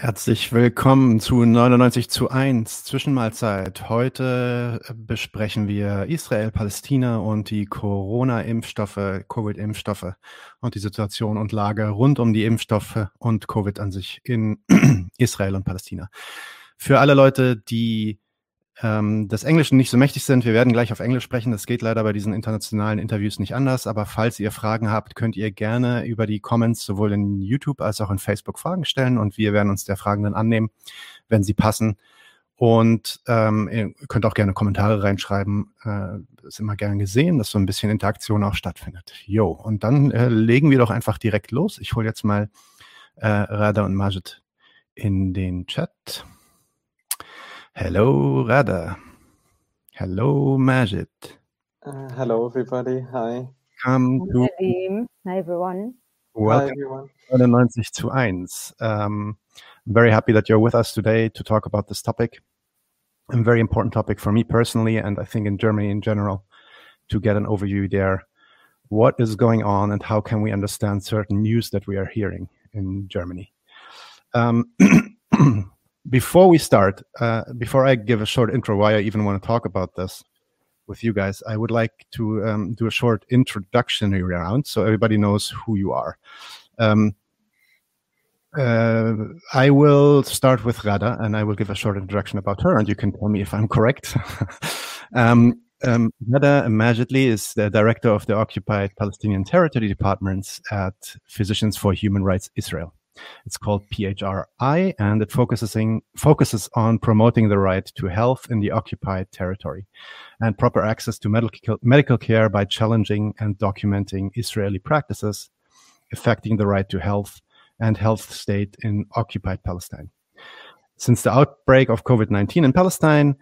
Herzlich willkommen zu 99:1 Zwischenmahlzeit. Heute besprechen wir Israel, Palästina und die Corona-Impfstoffe, Covid-Impfstoffe und die Situation und Lage rund um die Impfstoffe und Covid an sich in Israel und Palästina. Für alle Leute, die des Englischen nicht so mächtig sind, wir werden gleich auf Englisch sprechen. Das geht leider bei diesen internationalen Interviews nicht anders. Aber falls ihr Fragen habt, könnt ihr gerne über die Comments sowohl in YouTube als auch in Facebook Fragen stellen. Und wir werden uns der Fragen dann annehmen, wenn sie passen. Und ihr könnt auch gerne Kommentare reinschreiben. Ist immer gern gesehen, dass so ein bisschen Interaktion auch stattfindet. Jo, und dann legen wir doch einfach direkt los. Ich hole jetzt mal Rada und Majid in den Chat. Hello, Rada. Hello, Majid. Hello, everybody. Hi. Come to Nadim. Hi, everyone. Hi, welcome everyone. 99:1. I'm very happy that you're with us today to talk about this topic. A very important topic for me personally, and I think in Germany in general, to get an overview there. What is going on and how can we understand certain news that we are hearing in Germany? Before we start, before I give a short intro why I even want to talk about this with you guys, I would like to do a short introductory round so everybody knows who you are. I will start with Rada and I will give a short introduction about her and you can tell me if I'm correct. Rada Majidli is the director of the Occupied Palestinian Territory Departments at Physicians for Human Rights Israel. It's called PHRI, and it focuses on promoting the right to health in the occupied territory and proper access to medical care by challenging and documenting Israeli practices affecting the right to health and health state in occupied Palestine. Since the outbreak of COVID-19 in Palestine,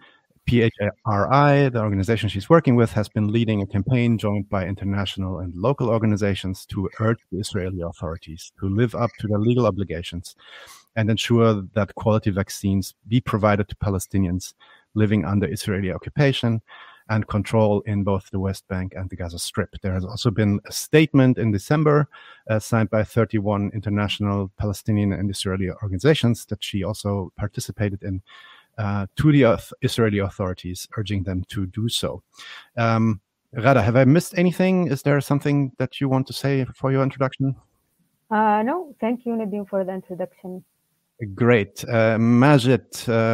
PHRI, the organization she's working with, has been leading a campaign joined by international and local organizations to urge the Israeli authorities to live up to their legal obligations and ensure that quality vaccines be provided to Palestinians living under Israeli occupation and control in both the West Bank and the Gaza Strip. There has also been a statement in December signed by 31 international Palestinian and Israeli organizations that she also participated in, to the Israeli authorities, urging them to do so. Rada, have I missed anything? Is there something that you want to say for your introduction? No, thank you, Nadim, for the introduction. Great. Majid,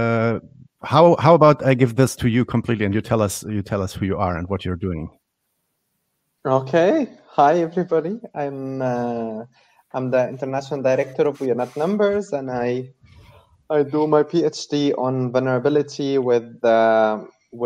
how about I give this to you completely and you tell us who you are and what you're doing. Okay. Hi, everybody. I'm the international director of We Are Not Numbers, and I do my PhD on vulnerability with the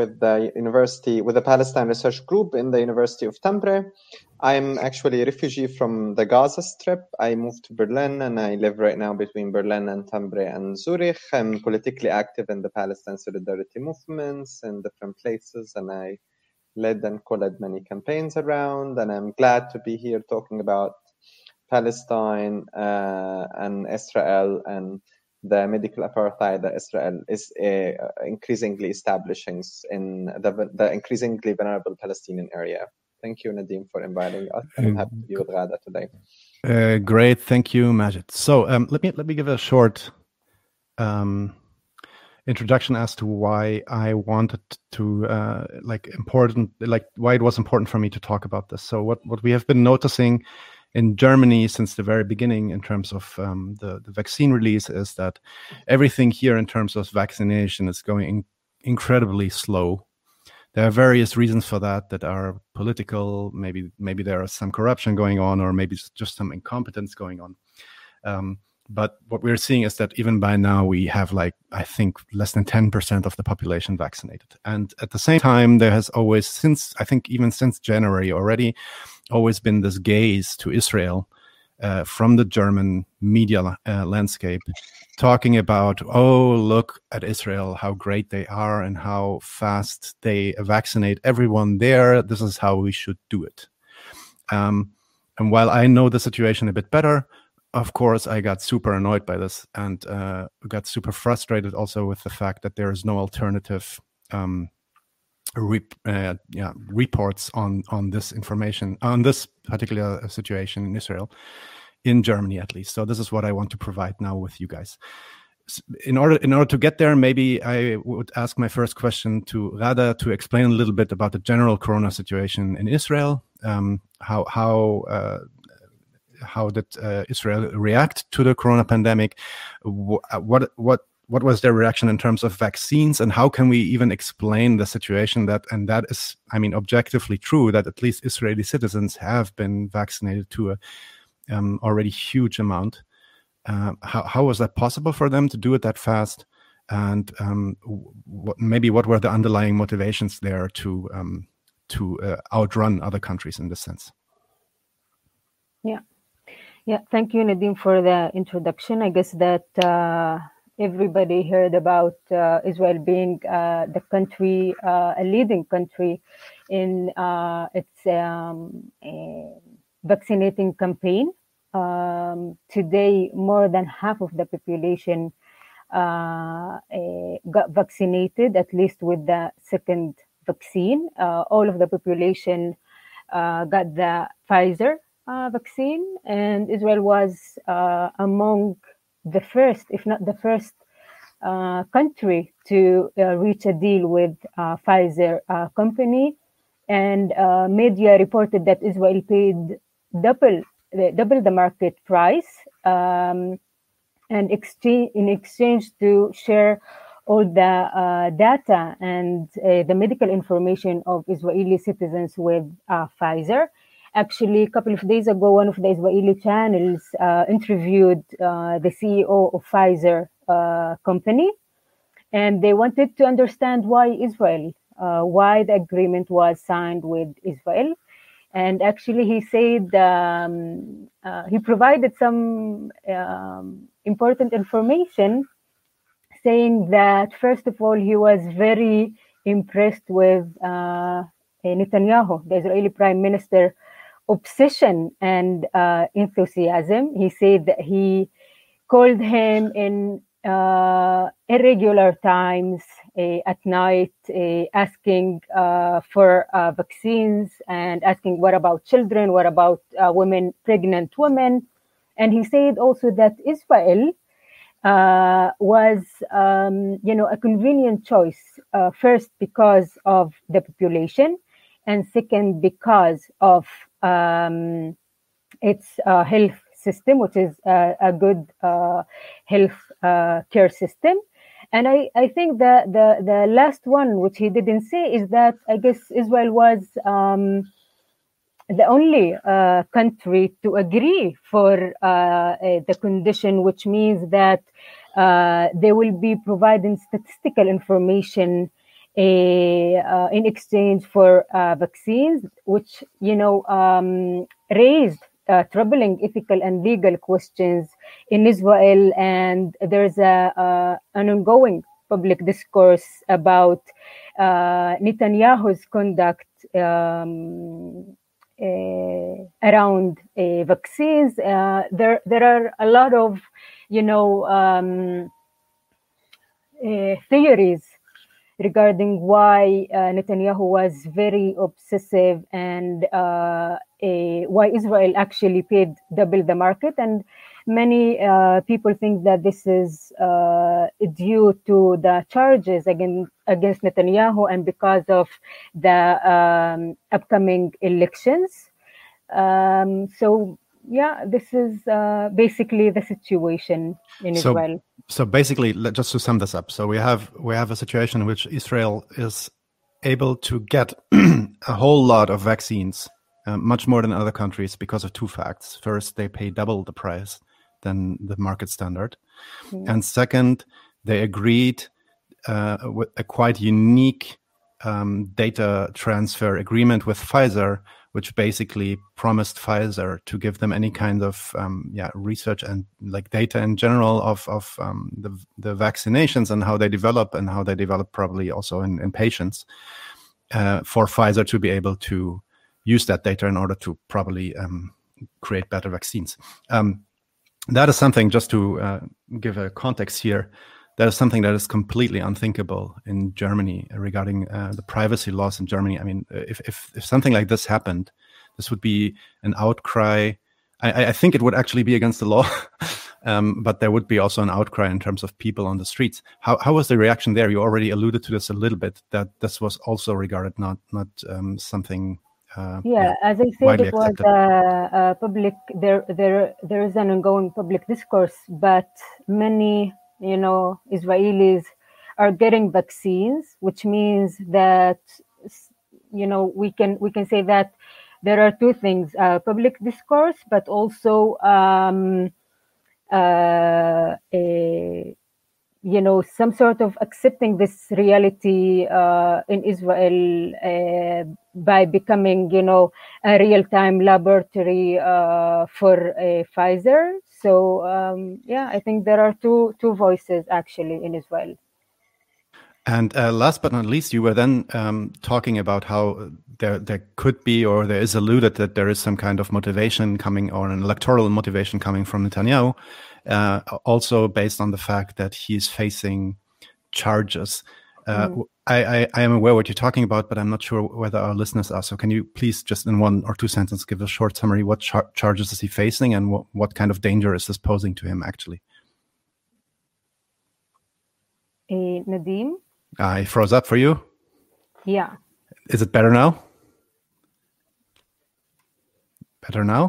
Palestine Research Group in the University of Tampere. I'm actually a refugee from the Gaza Strip. I moved to Berlin and I live right now between Berlin and Tampere and Zurich. I'm politically active in the Palestine Solidarity movements in different places, and I led and co-led many campaigns around, and I'm glad to be here talking about Palestine and Israel and the medical apartheid that Israel is increasingly establishing in the increasingly vulnerable Palestinian area. Thank you, Nadim, for inviting us. I'm happy to be with Rada today. Great, thank you, Majid. So let me give a short introduction as to why I wanted to why it was important for me to talk about this. So what we have been noticing in Germany since the very beginning in terms of the vaccine release is that everything here in terms of vaccination is going incredibly slow. There are various reasons for that are political. Maybe there is some corruption going on, or maybe just some incompetence going on. But what we're seeing is that even by now we have I think less than 10% of the population vaccinated. And at the same time, there has always since January already always been this gaze to Israel from the German media landscape, talking about, oh, look at Israel, how great they are and how fast they vaccinate everyone there. This is how we should do it. And while I know the situation a bit better, of course, I got super annoyed by this and got super frustrated also with the fact that there is no alternative reports on this information, on this particular situation in Israel, in Germany at least. So this is what I want to provide now with you guys. in order to get there, maybe I would ask my first question to Rada to explain a little bit about the general corona situation in Israel. How did Israel react to the corona pandemic? What was their reaction in terms of vaccines, and how can we even explain the situation that is, I mean, objectively true that at least Israeli citizens have been vaccinated to a already huge amount. How was that possible for them to do it that fast? And what were the underlying motivations there to outrun other countries in this sense? Yeah. Thank you, Nadim, for the introduction. I guess that everybody heard about Israel being the country, a leading country in its vaccinating campaign. Today, more than half of the population got vaccinated, at least with the second vaccine. All of the population got the Pfizer vaccine, and Israel was among the first, if not the first, country to reach a deal with Pfizer company. And media reported that Israel paid double the market price in exchange to share all the data and the medical information of Israeli citizens with Pfizer. Actually, a couple of days ago, one of the Israeli channels interviewed the CEO of Pfizer company, and they wanted to understand why Israel, why the agreement was signed with Israel. And actually, he said he provided some important information, saying that, first of all, he was very impressed with Netanyahu, the Israeli Prime Minister, obsession and enthusiasm. He said that he called him in irregular times at night, asking for vaccines and asking, what about children? What about pregnant women? And he said also that Israel was, a convenient choice, first because of the population, and second because of its health system, which is a good health care system. And I think the last one, which he didn't say, is that I guess Israel was the only country to agree for the condition, which means that they will be providing statistical information in exchange for vaccines, which raised troubling ethical and legal questions in Israel. And there's an ongoing public discourse about Netanyahu's conduct around vaccines. There are a lot of theories regarding why Netanyahu was very obsessive and why Israel actually paid double the market. And many people think that this is due to the charges against Netanyahu and because of the upcoming elections. So this is basically the situation in Israel. So basically, just to sum this up, so we have a situation in which Israel is able to get a whole lot of vaccines, much more than other countries, because of two facts. First, they pay double the price than the market standard. Mm-hmm. And second, they agreed with a quite unique data transfer agreement with Pfizer, which basically promised Pfizer to give them any kind of research and like data in general of the vaccinations and how they develop probably also in patients, for Pfizer to be able to use that data in order to probably create better vaccines. That is something, just to give a context here, that is something that is completely unthinkable in Germany regarding the privacy laws in Germany. I mean, if something like this happened, this would be an outcry. I think it would actually be against the law. but there would be also an outcry in terms of people on the streets. How was the reaction there? You already alluded to this a little bit, that this was also regarded not something. As I said, it was public. There is an ongoing public discourse, but many Israelis are getting vaccines, which means that we can say that there are two things: public discourse, but also some sort of accepting this reality in Israel by becoming, a real-time laboratory for Pfizer. So, I think there are two voices actually in Israel. And last but not least, you were then talking about how there could be, or there is alluded that there is some kind of motivation coming, or an electoral motivation coming from Netanyahu, also based on the fact that he's facing charges. I am aware what you're talking about, but I'm not sure whether our listeners are. So can you please just in 1 or 2 sentences give a short summary? What charges is he facing, and what kind of danger is this posing to him actually? Nadim? I froze up for you. Yeah. Is it better now? Better now?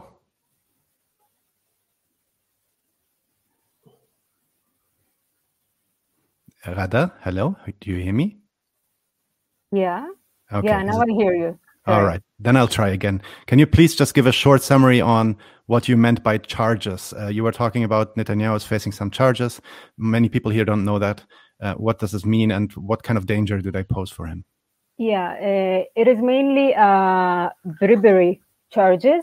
Rada, hello? Do you hear me? Yeah. Okay. Yeah, now I hear you. All right. Then I'll try again. Can you please just give a short summary on what you meant by charges? You were talking about Netanyahu is facing some charges. Many people here don't know that. What does this mean, and what kind of danger do they pose for him? Yeah, it is mainly bribery charges.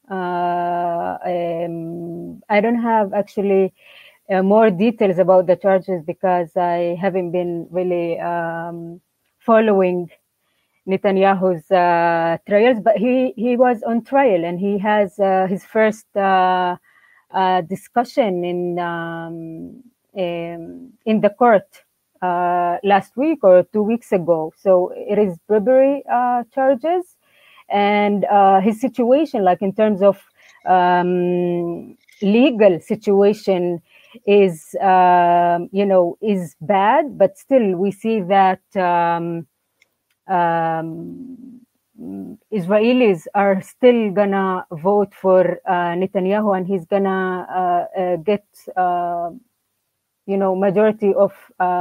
I don't have actually more details about the charges because I haven't been really following Netanyahu's trials, but he was on trial, and he has his first discussion in the court last week or 2 weeks ago. So it is bribery charges, and his situation, like in terms of legal situation, is is bad, but still we see that Israelis are still gonna vote for Netanyahu, and he's gonna get majority of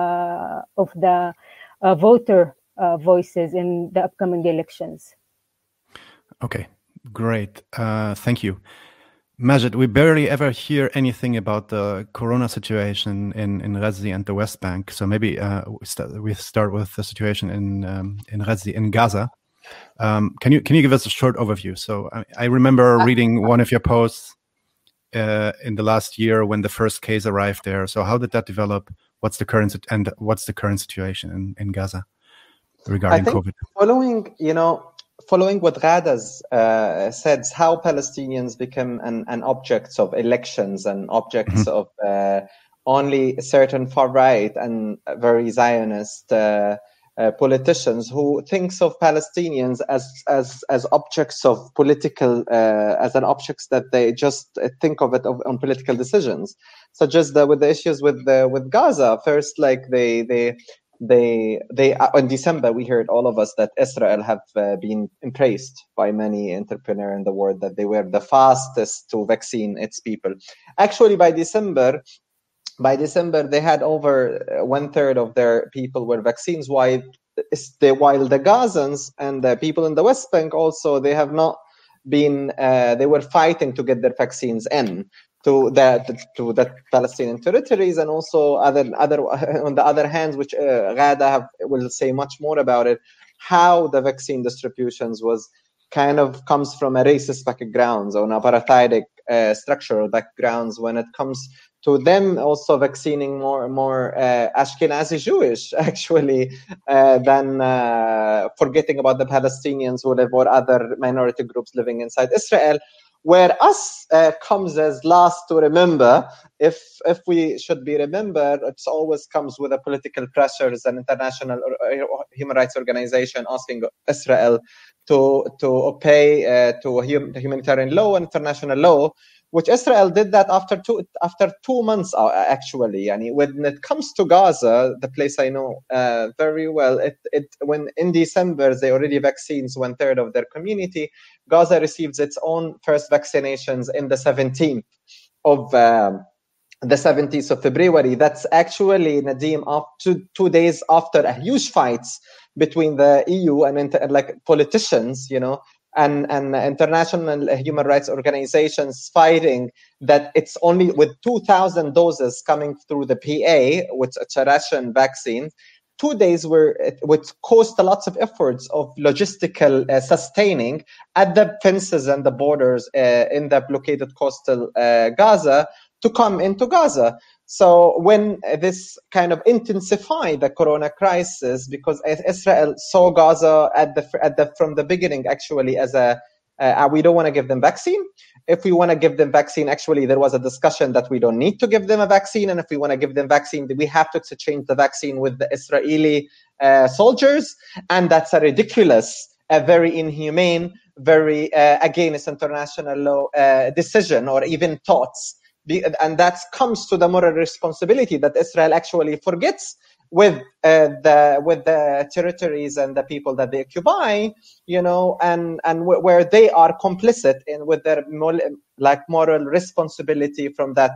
the voter voices in the upcoming elections. Okay, great. Thank you. Majid, we barely ever hear anything about the corona situation in Ghazi and the West Bank. So maybe we start with the situation in Ghazi, in Gaza. Can you give us a short overview? So I remember reading one of your posts in the last year when the first case arrived there. So how did that develop? What's the current situation in Gaza regarding COVID? Following what Ghada's said, how Palestinians become an object of elections and objects of only certain far right and very Zionist politicians who thinks of Palestinians as objects of political, as an objects that they just think of it on political decisions, such as with the issues with Gaza. First, like they in December we heard, all of us, that Israel have been praised by many entrepreneurs in the world that they were the fastest to vaccine its people. Actually, by December they had over 1/3 of their people were vaccines, while the Gazans and the people in the West Bank also, they have not been. They were fighting to get their vaccines in to the Palestinian territories, and also other on the other hand, which Ghada will say much more about it, how the vaccine distributions was kind of comes from a racist backgrounds or an apartheidic structural backgrounds when it comes to them also vaccinating more Ashkenazi Jewish actually than forgetting about the Palestinians who live or other minority groups living inside Israel. Where us comes as last to remember, if we should be remembered, it always comes with a political pressures and international human rights organization asking Israel to obey to humanitarian law and international law which Israel did that after 2 months, actually. And when it comes to Gaza, the place I know very well, when in December they already vaccines 1/3 of their community, Gaza receives its own first vaccinations in the 17th of February. That's actually, Nadim, up to 2 days after a huge fights between the EU and politicians, and international human rights organizations fighting that it's only with 2,000 doses coming through the PA, which is a Russian vaccine. 2 days which cost lots of efforts of logistical sustaining at the fences and the borders in the blockaded coastal Gaza to come into Gaza. So when this kind of intensified the corona crisis, because Israel saw Gaza from the beginning actually as we don't want to give them vaccine. If we want to give them vaccine, actually there was a discussion that we don't need to give them a vaccine, and if we want to give them vaccine, we have to exchange the vaccine with the Israeli soldiers, and that's a ridiculous, a very inhumane, very against international law decision or even thoughts. And that comes to the moral responsibility that Israel actually forgets with the territories and the people that they occupy, and where they are complicit in with their moral responsibility from that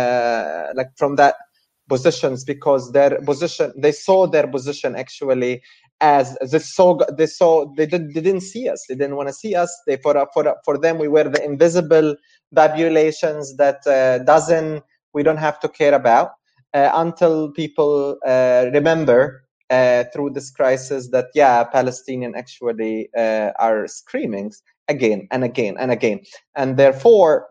positions, because they saw their position actually as they didn't see us. They didn't want to see us. For them we were the invisible populations that we don't have to care about until people remember through this crisis that Palestinians actually are screaming again and again and again, and therefore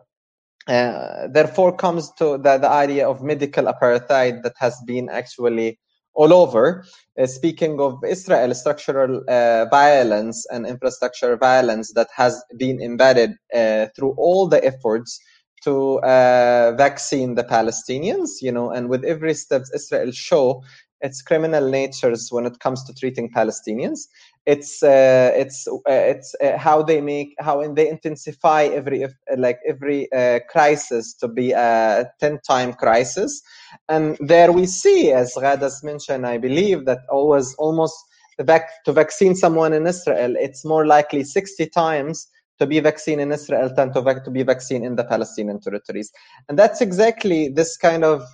comes to the idea of medical apartheid that has been actually all over. Speaking of Israel, structural violence and infrastructure violence that has been embedded through all the efforts to vaccine the Palestinians, and with every step Israel show its criminal natures when it comes to treating Palestinians. It's how they intensify every crisis to be a 10-time crisis. And there we see, as Ghadas mentioned, I believe that almost to vaccine someone in Israel, it's more likely 60 times to be vaccinated in Israel than to be vaccinated in the Palestinian territories. And that's exactly this kind of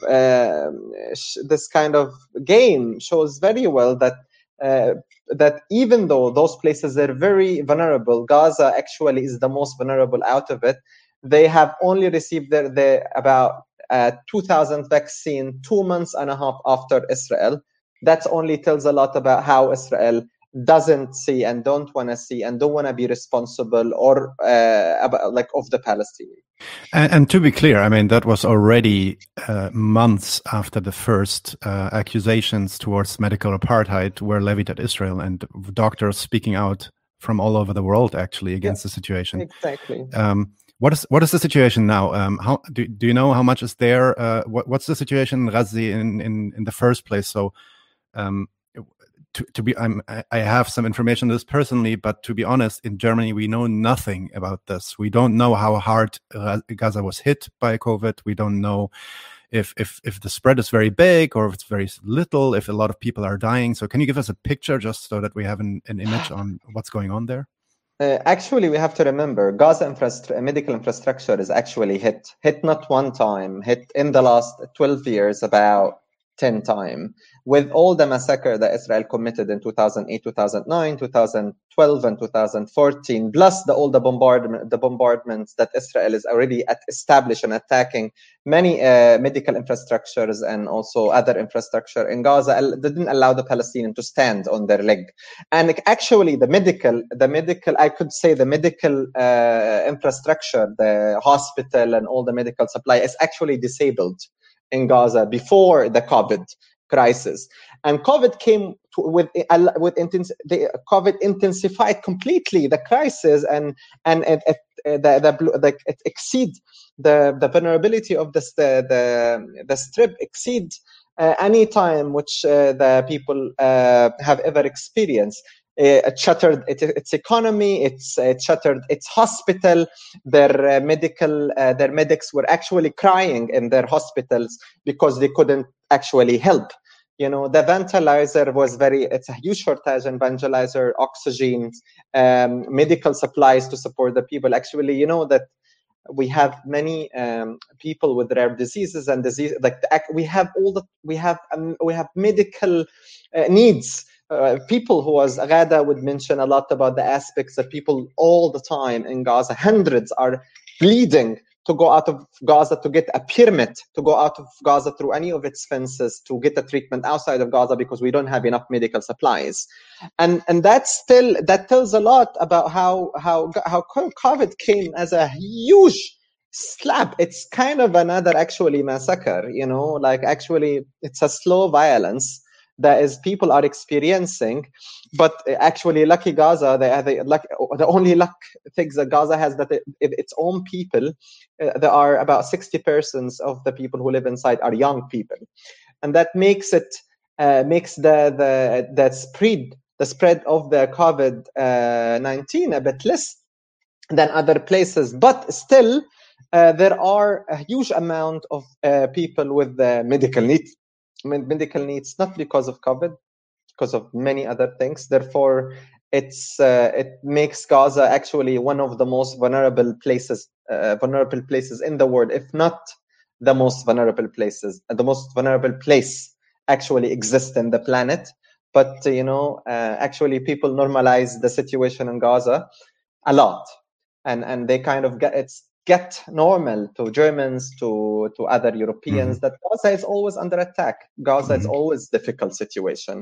game shows very well that even though those places are very vulnerable, Gaza actually is the most vulnerable out of it. They have only received about 2,000 vaccine 2 months and a half after Israel. That only tells a lot about how Israel doesn't see and don't want to see and don't want to be responsible or of the Palestinians. And to be clear, I mean, that was already months after the first accusations towards medical apartheid were levied at Israel, and doctors speaking out from all over the world actually against the situation. Exactly. What is the situation now? How do you know how much is there? What's the situation in Gaza in the first place? So, I have some information on this personally, but to be honest, in Germany we know nothing about this. We don't know how hard Gaza was hit by COVID. We don't know if the spread is very big or if it's very little. If a lot of people are dying. So, can you give us a picture just so that we have an image on what's going on there? Actually, we have to remember Gaza medical infrastructure is actually hit not one time, hit in the last 12 years about 10 times, with all the massacre that Israel committed in 2008, 2009, 2012, and 2014, plus all the bombardments that Israel is already established and attacking many medical infrastructures and also other infrastructure in Gaza, didn't allow the Palestinians to stand on their leg. And actually, the medical, I could say the medical infrastructure, the hospital and all the medical supply is actually disabled in Gaza before the COVID crisis, and COVID came COVID intensified completely the crisis, and it exceed the vulnerability of the strip exceed any time which the people have ever experienced. It shuttered its economy. It shuttered its hospital. Their medics were actually crying in their hospitals because they couldn't actually help. The ventilator was it's a huge shortage in ventilator, oxygen, medical supplies to support the people. Actually, that we have many people with rare diseases and disease we have medical needs. People who, as Ghada would mention a lot about the aspects that people all the time in Gaza, hundreds are bleeding to go out of Gaza to get a permit to go out of Gaza through any of its fences to get a treatment outside of Gaza because we don't have enough medical supplies, and that tells a lot about how COVID came as a huge slap. It's kind of another actually massacre, actually it's a slow violence that is people are experiencing, but actually lucky Gaza, the only luck things that Gaza has that its own people, there are about 60% of the people who live inside are young people, and that makes it makes the spread of the COVID-19 a bit less than other places, but still there are a huge amount of people with medical needs, not because of COVID, because of many other things. Therefore, it makes Gaza actually one of the most vulnerable places in the world, if not the most vulnerable places. The most vulnerable place actually exists in the planet. But actually, people normalize the situation in Gaza a lot, and they kind of get normal to Germans, to other Europeans, that Gaza is always under attack. Gaza is always a difficult situation.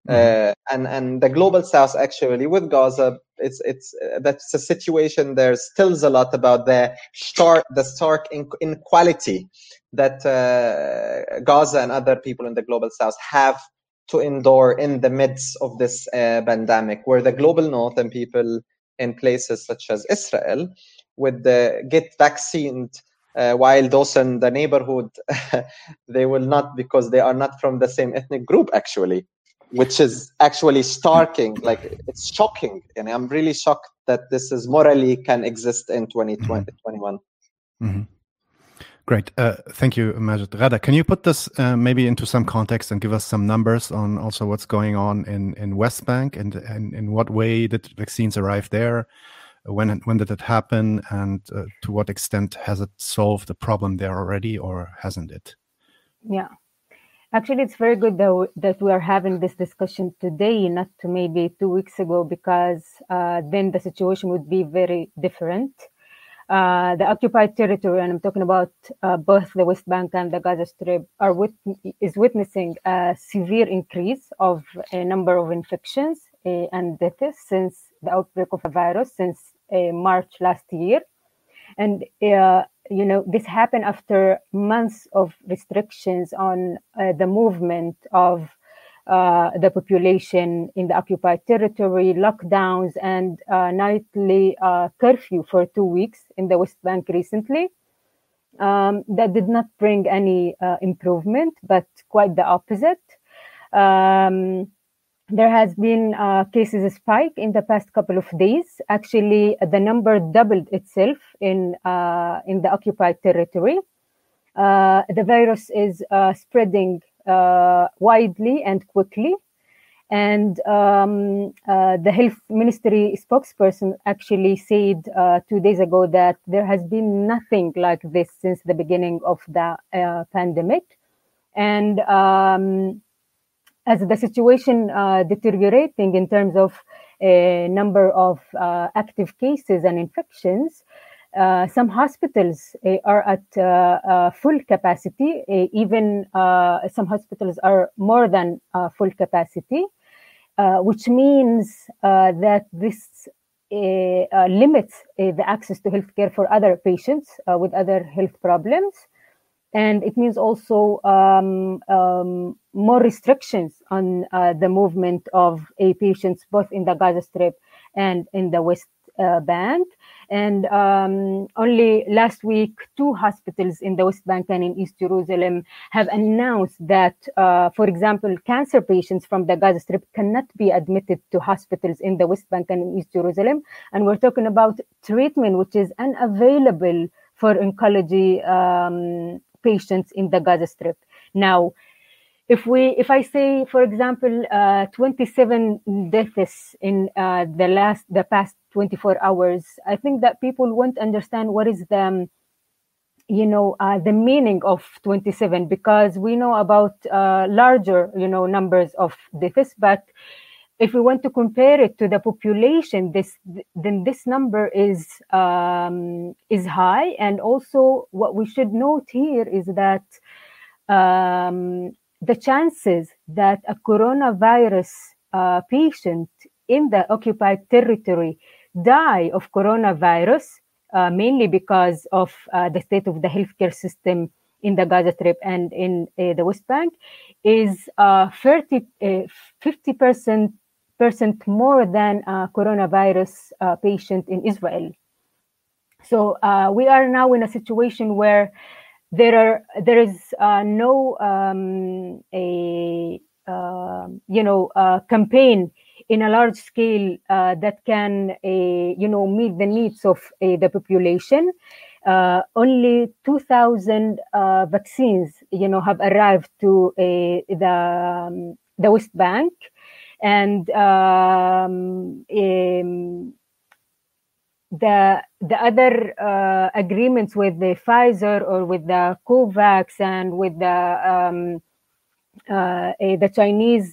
And the global South actually with Gaza, that's a situation. There's still a lot about the stark inequality that Gaza and other people in the global South have to endure in the midst of this pandemic, where the global North and people in places such as Israel would get vaccinated, while those in the neighborhood, they will not, because they are not from the same ethnic group, actually, which is actually starking, it's shocking. And I'm really shocked that this is morally can exist in 2021. Great. Thank you, Majid. Ghada, can you put this maybe into some context and give us some numbers on also what's going on in West Bank, and in what way did vaccines arrive there? When did it happen, and to what extent has it solved the problem there already, or hasn't it? Yeah, actually, it's very good that we are having this discussion today, not maybe 2 weeks ago, because then the situation would be very different. The occupied territory, and I'm talking about both the West Bank and the Gaza Strip, is witnessing a severe increase of a number of infections and deaths since the outbreak of the virus, since March last year. And, this happened after months of restrictions on the movement of the population in the occupied territory, lockdowns, and nightly curfew for 2 weeks in the West Bank recently. That did not bring any improvement, but quite the opposite. There has been cases spike in the past couple of days. Actually, the number doubled itself in the occupied territory. The virus is spreading widely and quickly. And the health ministry spokesperson actually said 2 days ago that there has been nothing like this since the beginning of the pandemic. And as the situation deteriorating in terms of number of active cases and infections, some hospitals are at full capacity. Even some hospitals are more than full capacity, which means that this limits the access to healthcare for other patients with other health problems. And it means also more restrictions on the movement of patients, both in the Gaza Strip and in the West Bank. And only last week, 2 hospitals in the West Bank and in East Jerusalem have announced that, for example, cancer patients from the Gaza Strip cannot be admitted to hospitals in the West Bank and in East Jerusalem. And we're talking about treatment which is unavailable for oncology patients in the Gaza Strip. Now, if I say, for example, 27 deaths in the past 24 hours, I think that people won't understand what is the meaning of 27, because we know about larger, numbers of deaths, but if we want to compare it to the population, then this number is high. And also, what we should note here is that the chances that a coronavirus patient in the occupied territory die of coronavirus, mainly because of the state of the healthcare system in the Gaza Strip and in the West Bank, is 50% more than a coronavirus patient in Israel. So we are now in a situation where there is no campaign in a large scale that can meet the needs of the population. Only 2,000 vaccines have arrived to the West Bank, and the other agreements with the Pfizer or with the COVAX and with the Chinese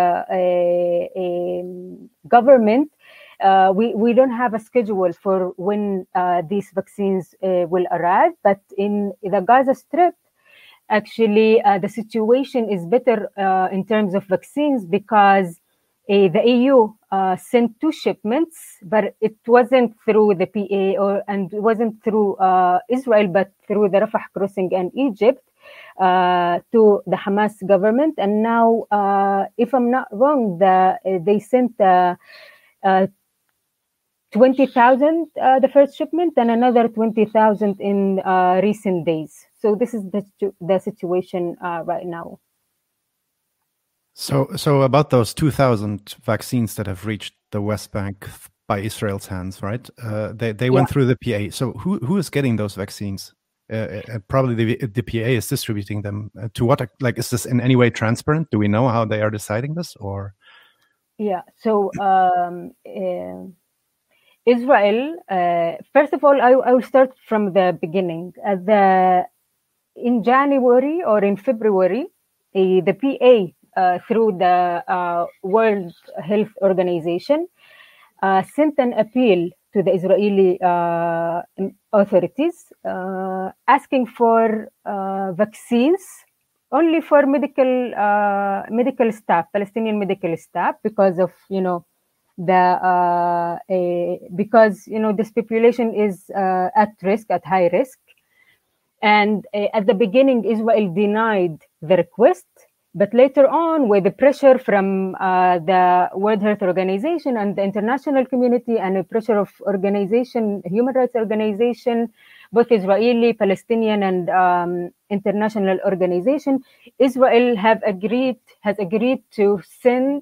government, we don't have a schedule for when these vaccines will arrive. But in the Gaza Strip, actually, the situation is better in terms of vaccines, because the EU sent 2 shipments, but it wasn't through the PA and it wasn't through Israel, but through the Rafah crossing and Egypt to the Hamas government. And now, if I'm not wrong, they sent 20,000 the first shipment, and another 20,000 in recent days. So this is the situation right now. So about those 2,000 vaccines that have reached the West Bank by Israel's hands, right? They went through the PA. So who is getting those vaccines? Probably the PA is distributing them. To what? Like, is this in any way transparent? Do we know how they are deciding this, or? Yeah. So Israel. First of all, I will start from the beginning. In January or in February, the PA. Through the World Health Organization, sent an appeal to the Israeli authorities asking for vaccines only for medical staff, Palestinian medical staff, because of because this population is at high risk, and at the beginning Israel denied the request. But later on, with the pressure from the World Health Organization and the international community, and the pressure of human rights organization, both Israeli, Palestinian, and international organization, Israel has agreed to send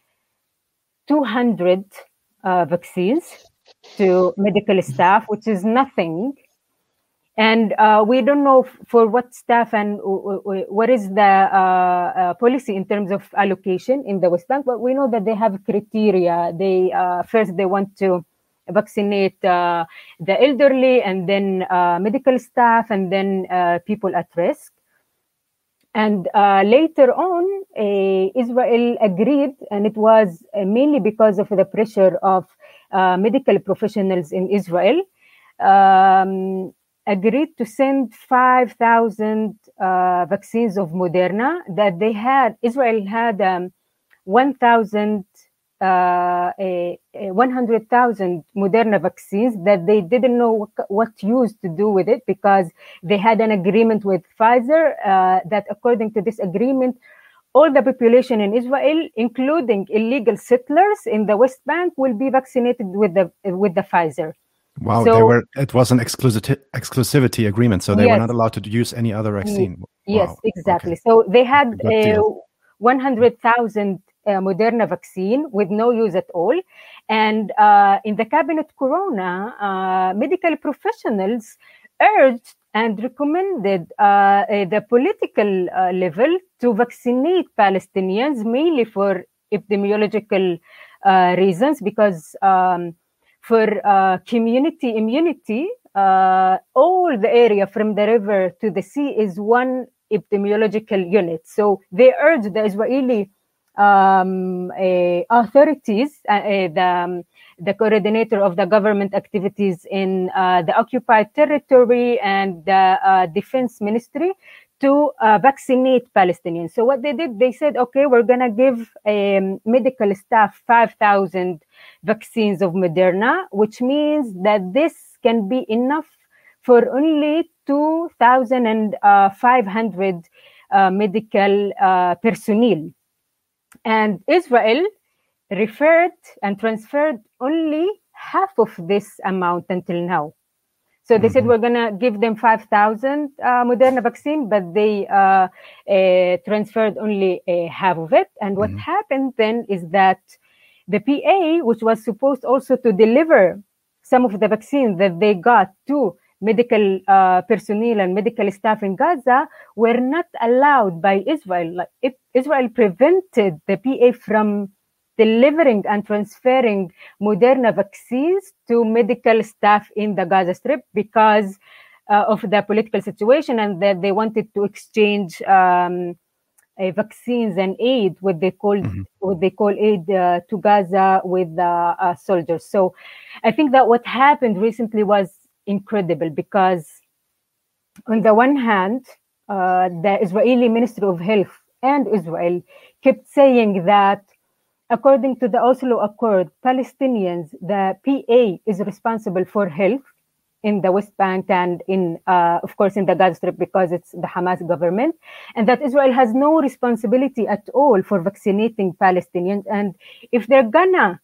200 vaccines to medical staff, which is nothing. And we don't know for what staff and what is the policy in terms of allocation in the West Bank, but we know that they have criteria. They first they want to vaccinate the elderly, and then medical staff, and then people at risk. And later on, Israel agreed, and it was mainly because of the pressure of medical professionals in Israel. Agreed to send 5,000 vaccines of Moderna that they had. Israel had 100,000 Moderna vaccines that they didn't know what use to do with it, because they had an agreement with Pfizer that according to this agreement, all the population in Israel, including illegal settlers in the West Bank, will be vaccinated with the Pfizer. Wow, So, it was an exclusivity agreement, so they were not allowed to use any other vaccine. Yes, wow. exactly. Okay. So they had 100,000 Moderna vaccine with no use at all. And in the Cabinet Corona, medical professionals urged and recommended the political level to vaccinate Palestinians, mainly for epidemiological reasons, because for community immunity, all the area from the river to the sea is one epidemiological unit. So they urged the Israeli authorities, the coordinator of the government activities in the occupied territory and the defense ministry to vaccinate Palestinians. So what they did, they said, okay, we're going to give medical staff 5,000 vaccines of Moderna, which means that this can be enough for only 2,500 medical personnel. And Israel referred and transferred only half of this amount until now. So they said, we're going to give them 5,000 Moderna vaccine, but they transferred only half of it. And what happened then is that the PA, which was supposed also to deliver some of the vaccine that they got to medical personnel and medical staff in Gaza, were not allowed by Israel. Like Israel prevented the PA from delivering and transferring Moderna vaccines to medical staff in the Gaza Strip because of the political situation, and that they wanted to exchange vaccines and aid, what they call aid to Gaza with the soldiers. So I think that what happened recently was incredible, because on the one hand, the Israeli Ministry of Health and Israel kept saying that according to the Oslo Accord, Palestinians, the PA is responsible for health in the West Bank and in, of course, in the Gaza Strip, because it's the Hamas government, and that Israel has no responsibility at all for vaccinating Palestinians. And if they're gonna,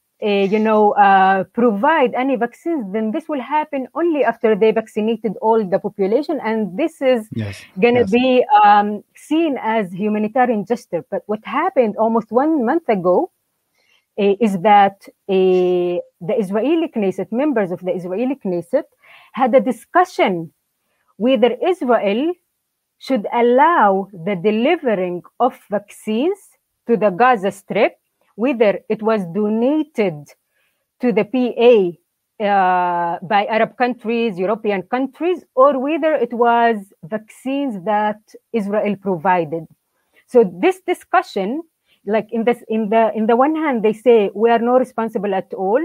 provide any vaccines, then this will happen only after they vaccinated all the population, and this is gonna be seen as humanitarian gesture. But what happened almost 1 month ago is that the Israeli Knesset, members of the Israeli Knesset, had a discussion whether Israel should allow the delivering of vaccines to the Gaza Strip, whether it was donated to the PA by Arab countries, European countries, or whether it was vaccines that Israel provided. So this discussion, like in the one hand, they say we are not responsible at all.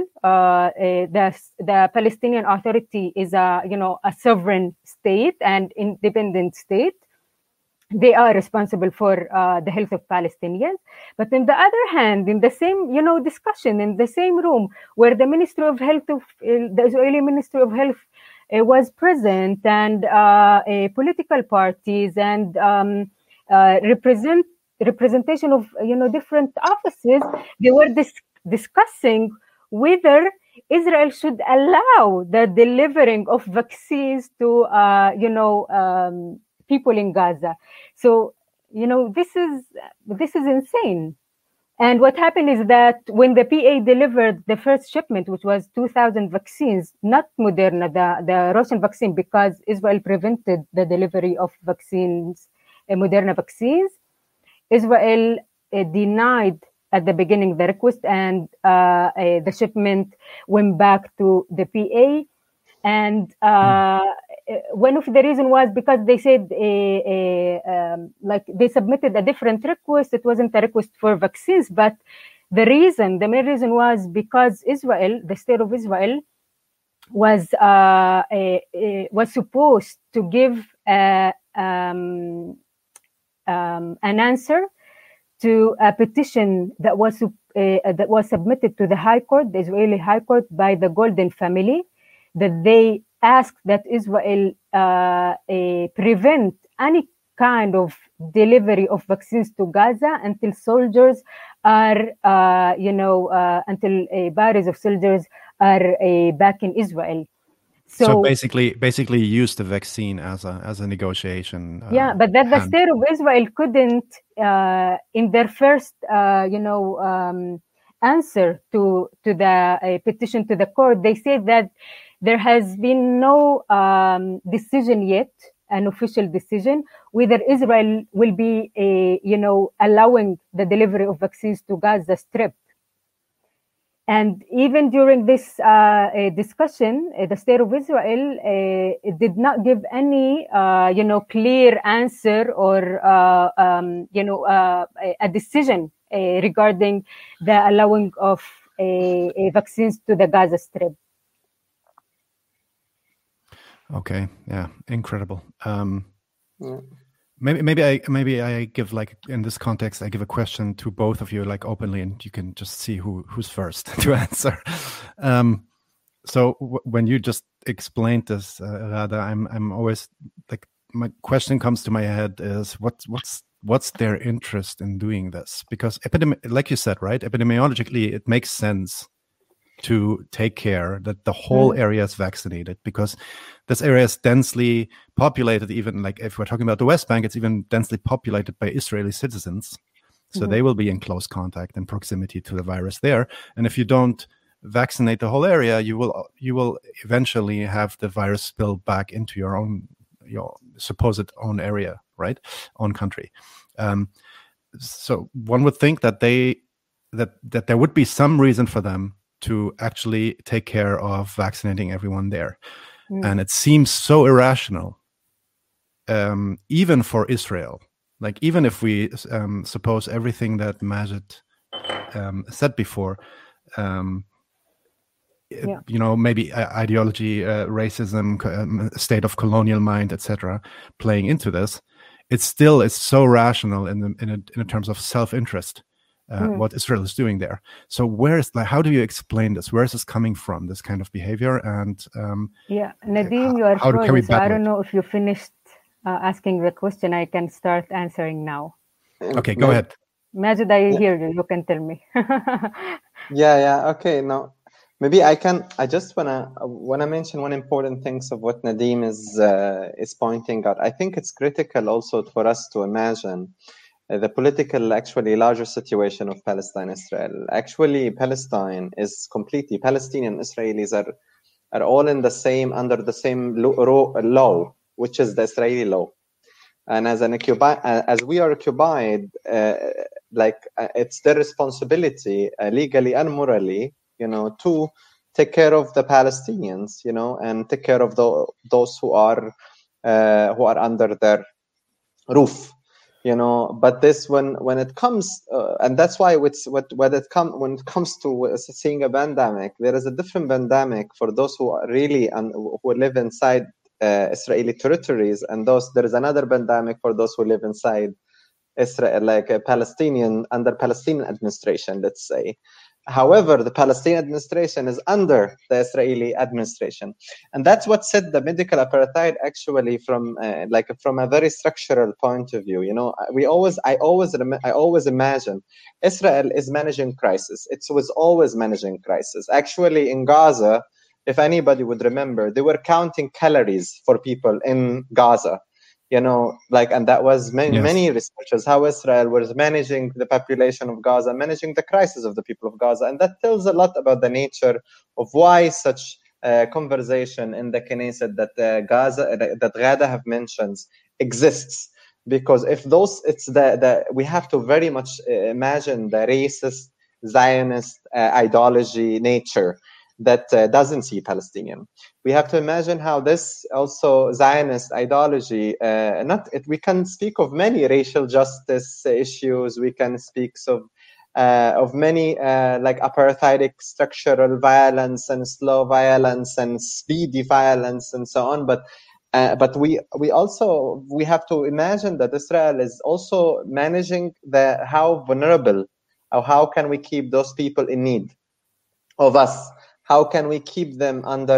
The Palestinian Authority is a sovereign state and independent state. They are responsible for the health of Palestinians. But on the other hand, in the same discussion in the same room where the Ministry of Health the Israeli Ministry of Health was present, and political parties and representation of different offices, they were discussing whether Israel should allow the delivering of vaccines to people in Gaza. So this is insane. And what happened is that when the PA delivered the first shipment, which was 2,000 vaccines, not Moderna, the Russian vaccine, because Israel prevented the delivery of vaccines, Moderna vaccines, Israel denied at the beginning the request, and the shipment went back to the PA. And one of the reasons was because they said like they submitted a different request. It wasn't a request for vaccines, but the main reason was because Israel, the state of Israel, was supposed to give an answer to a petition that was submitted to the High Court, the Israeli High Court, by the Golden family, that they asked that Israel prevent any kind of delivery of vaccines to Gaza until soldiers are, until bodies of soldiers are back in Israel. So basically use the vaccine as a negotiation. But that the state of Israel couldn't, in their first, answer to the petition to the court, they said that there has been no decision yet, an official decision, whether Israel will be, allowing the delivery of vaccines to Gaza Strip. And even during this discussion, the state of Israel did not give any, clear answer or, a decision regarding the allowing of vaccines to the Gaza Strip. Okay, yeah, incredible. Maybe I give, like, in this context, I give a question to both of you, like, openly, and you can just see who's first to answer. So when you just explained this, Rada, I'm always like, my question comes to my head is what's their interest in doing this? Because like you said, right, epidemiologically, it makes sense to take care that the whole area is vaccinated, because this area is densely populated. Even like if we're talking about the West Bank, it's even densely populated by Israeli citizens. So they will be in close contact and proximity to the virus there. And if you don't vaccinate the whole area, you will eventually have the virus spill back into your supposed own area, right? Own country. So one would think that that there would be some reason for them to actually take care of vaccinating everyone there. And it seems so irrational, even for Israel. Like, even if we suppose everything that Majid said before, maybe ideology, racism, state of colonial mind, etc., playing into this, it still is so rational in terms of self-interest. What Israel is doing there. So how do you explain this? Where is this coming from, this kind of behavior? And Nadim, you are frozen, so I don't know if you finished asking the question. I can start answering now. Okay, go ahead. Majid, I hear you. You can tell me. Okay, now maybe I just wanna mention one important thing of what Nadim is pointing out. I think it's critical also for us to imagine the political, actually larger situation of Palestine-Israel. Actually, Palestine is completely, Palestinian Israelis are all under the same law, which is the Israeli law. And as we are occupied, it's their responsibility, legally and morally, to take care of the Palestinians, and take care of those who are under their roof. But this when it comes, and that's why when it comes to seeing a pandemic, there is a different pandemic for those who are really who live inside Israeli territories, and there is another pandemic for those who live inside Israel, like a under Palestinian administration, let's say. However, the Palestinian administration is under the Israeli administration, and that's what set the medical apartheid actually from a very structural point of view. I always imagine Israel is managing crisis. It was always managing crisis. Actually, in Gaza, if anybody would remember, they were counting calories for people in Gaza. And that was many researchers, how Israel was managing the population of Gaza, managing the crisis of the people of Gaza. And that tells a lot about the nature of why such conversation in the Knesset that Ghada have mentioned exists. Because if we have to very much imagine the racist, Zionist ideology nature that doesn't see Palestinian. We have to imagine how this also Zionist ideology, we can speak of many racial justice issues. We can speak of many like apartheidic structural violence and slow violence and speedy violence and so on. But we have to imagine that Israel is also managing how vulnerable, or how can we keep those people in need of us. How can we keep them under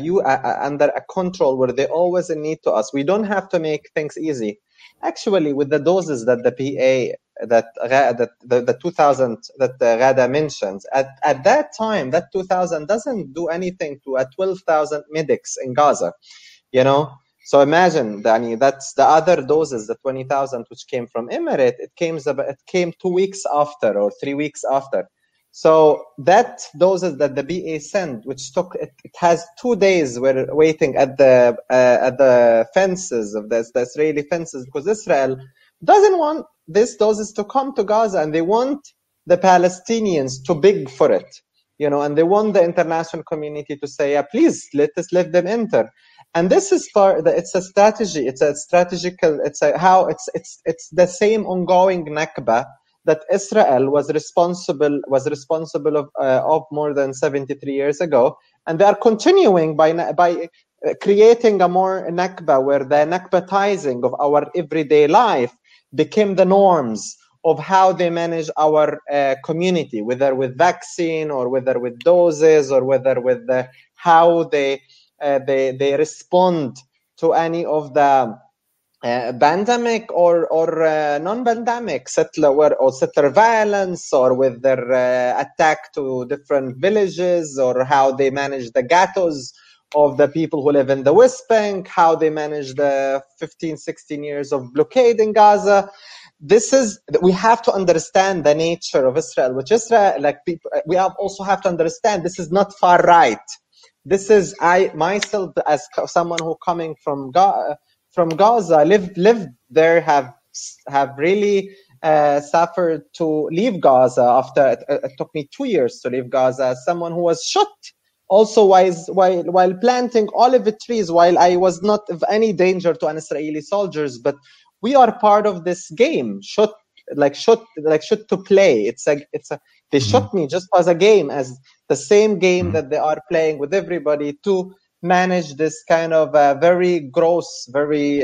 a control where they always need to us? We don't have to make things easy. Actually, with the doses that the PA the 2000 that Ghada mentions, at that time, that 2000 doesn't do anything to a 12,000 medics in Gaza, you know. So imagine, that's the other doses, the 20,000 which came from Emirate. It came 2 weeks after or 3 weeks after. So that doses that the BA sent, which took it has 2 days, were waiting at the fences of the Israeli fences, because Israel doesn't want these doses to come to Gaza, and they want the Palestinians to beg for it, you know, and they want the international community to say, yeah, please let them enter. And this is it's a strategy. It's a strategical. It's the same ongoing Nakba that Israel was responsible of more than 73 years ago, and they are continuing by creating a more Nakba, where the Nakbatizing of our everyday life became the norms of how they manage our community, whether with vaccine or whether with doses or whether with how they respond to any of the pandemic or non-pandemic settler violence, or with their attack to different villages, or how they manage the ghettos of the people who live in the West Bank, how they manage the 15-16 years of blockade in Gaza. We have to understand the nature of Israel, which Israel, we also have to understand this is not far right. This is, I myself, as someone who coming from Gaza, lived there, have really suffered to leave Gaza after it took me 2 years to leave Gaza, as someone who was shot also while planting olive trees, while I was not of any danger to an Israeli soldiers. But we are part of this game, shot to play. They shot me just as a game, as the same game that they are playing with everybody, to manage this kind of very gross, very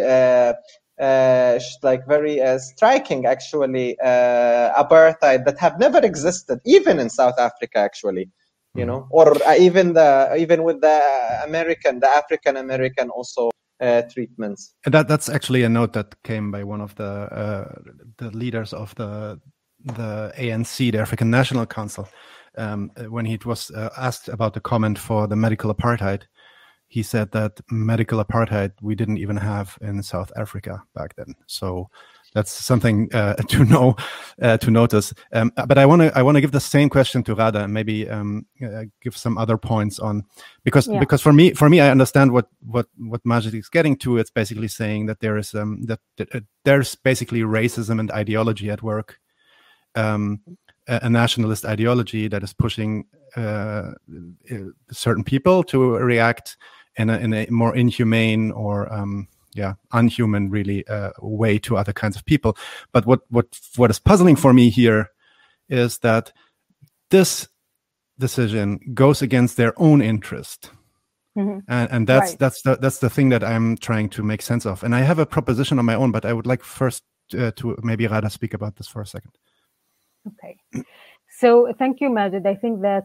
striking, actually, apartheid that have never existed, even in South Africa, actually, you know, or even with the African American also treatments. And that's actually a note that came by one of the leaders of the ANC, the African National Council, when he was asked about the comment for the medical apartheid. He said that medical apartheid we didn't even have in South Africa back then. So that's something to notice. But I want to give the same question to Ghada, and maybe give some other points on, because for me I understand what Majid is getting to. It's basically saying that there is there's basically racism and ideology at work, a nationalist ideology that is pushing certain people to react in a more inhumane or unhuman, really, way to other kinds of people. But what is puzzling for me here is that this decision goes against their own interest, and that's the thing that I'm trying to make sense of. And I have a proposition on my own, but I would like first to maybe Ghada speak about this for a second. Okay. So thank you, Majid. I think that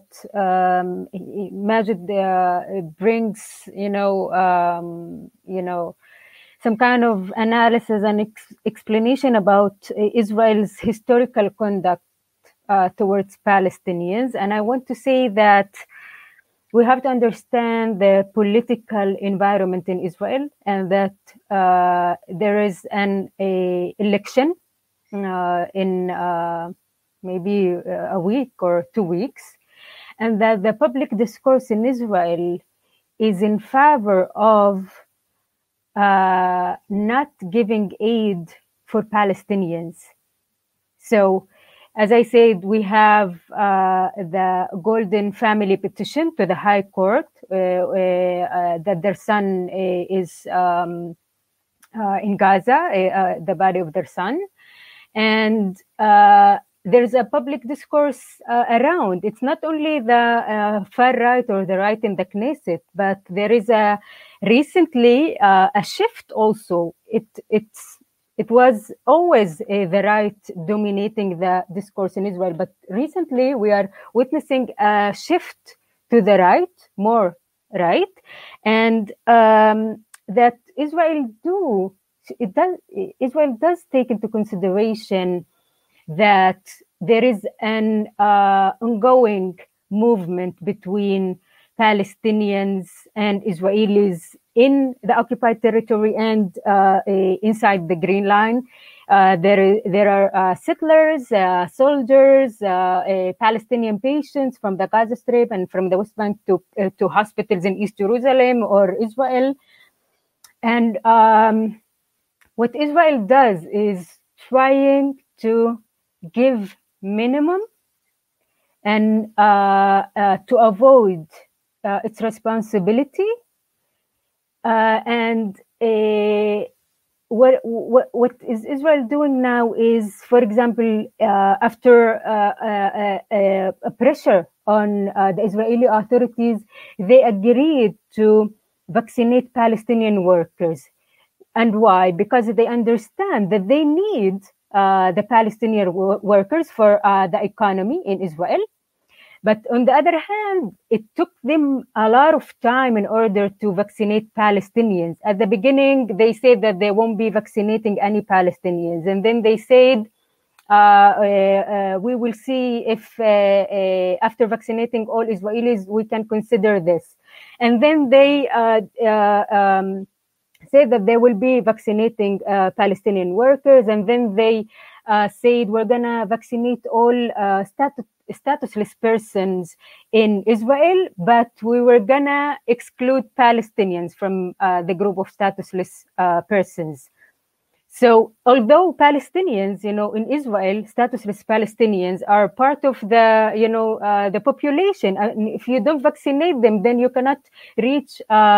Majid brings, some kind of analysis and explanation about Israel's historical conduct towards Palestinians. And I want to say that we have to understand the political environment in Israel, and that there is an election in maybe a week or 2 weeks, and that the public discourse in Israel is in favor of not giving aid for Palestinians. So, as I said, we have the Golden Family petition to the High Court that their son is in Gaza, the body of their son. And there's a public discourse around. It's not only the far right or the right in the Knesset, but there is recently a shift also. It was always the right dominating the discourse in Israel, but recently we are witnessing a shift to the right, more right, and that Israel does take into consideration that there is an ongoing movement between Palestinians and Israelis in the occupied territory and inside the Green Line. There are settlers, soldiers, Palestinian patients from the Gaza Strip and from the West Bank to hospitals in East Jerusalem or Israel. And what Israel does is trying to give minimum and to avoid its responsibility. And what is Israel doing now is, for example, after a pressure on the Israeli authorities, they agreed to vaccinate Palestinian workers. And why? Because they understand that they need the Palestinian workers for the economy in Israel. But on the other hand, it took them a lot of time in order to vaccinate Palestinians. At the beginning, they said that they won't be vaccinating any Palestinians. And then they said, we will see if after vaccinating all Israelis, we can consider this. And then they said that they will be vaccinating Palestinian workers. And then they said, we're going to vaccinate all statusless persons in Israel, but we were going to exclude Palestinians from the group of statusless persons. So although Palestinians, in Israel, statusless Palestinians are part of the, the population. If you don't vaccinate them, then you cannot reach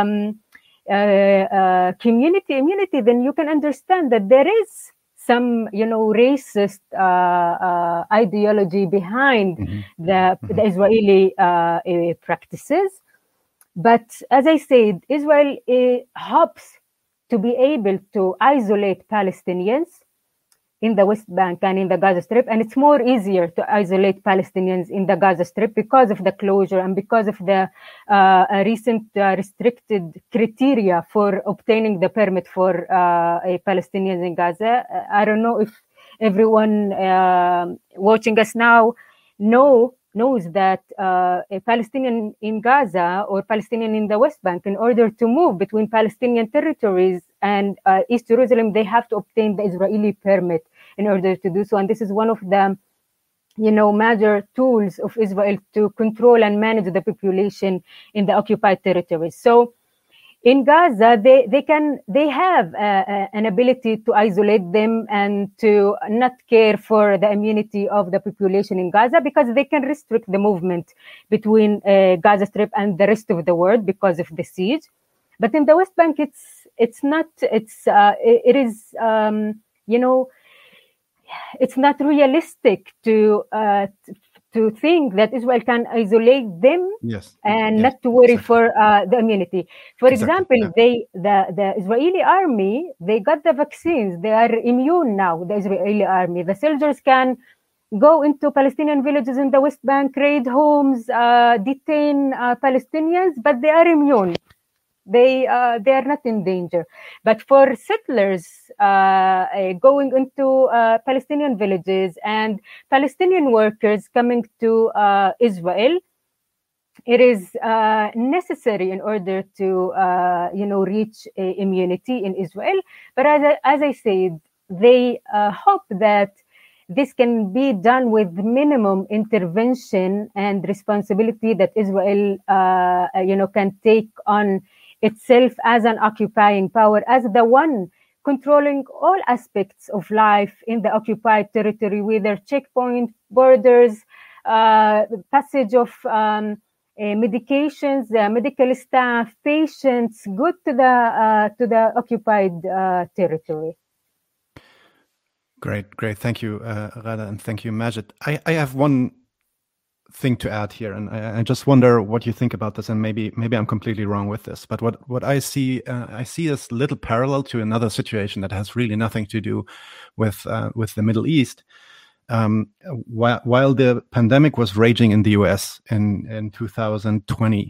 community immunity. Then you can understand that there is some, racist ideology behind the Israeli practices. But as I said, Israel hopes to be able to isolate Palestinians in the West Bank and in the Gaza Strip. And it's more easier to isolate Palestinians in the Gaza Strip because of the closure and because of the recent restricted criteria for obtaining the permit for Palestinians in Gaza. I don't know if everyone watching us now knows that a Palestinian in Gaza or Palestinian in the West Bank, in order to move between Palestinian territories and East Jerusalem, they have to obtain the Israeli permit in order to do so. And this is one of the, major tools of Israel to control and manage the population in the occupied territories. So in Gaza, they have an ability to isolate them and to not care for the immunity of the population in Gaza because they can restrict the movement between Gaza Strip and the rest of the world because of the siege. But in the West Bank, it is it's not realistic to think that Israel can isolate them and not to worry for the immunity. For example, the Israeli army, they got the vaccines. They are immune now, the Israeli army. The soldiers can go into Palestinian villages in the West Bank, raid homes, detain Palestinians, but they are immune. They are not in danger. But for settlers going into Palestinian villages and Palestinian workers coming to Israel, it is necessary in order to reach immunity in Israel. But as I said, they hope that this can be done with minimum intervention and responsibility that Israel can take on itself as an occupying power, as the one controlling all aspects of life in the occupied territory, whether checkpoint, borders, passage of medications, medical staff, patients, good to the occupied territory. Great. Thank you, Ghada, and thank you, Majed. I have one thing to add here, and I just wonder what you think about this, and maybe I'm completely wrong with this, but what I see this little parallel to another situation that has really nothing to do with the Middle East, while the pandemic was raging in the US in 2020,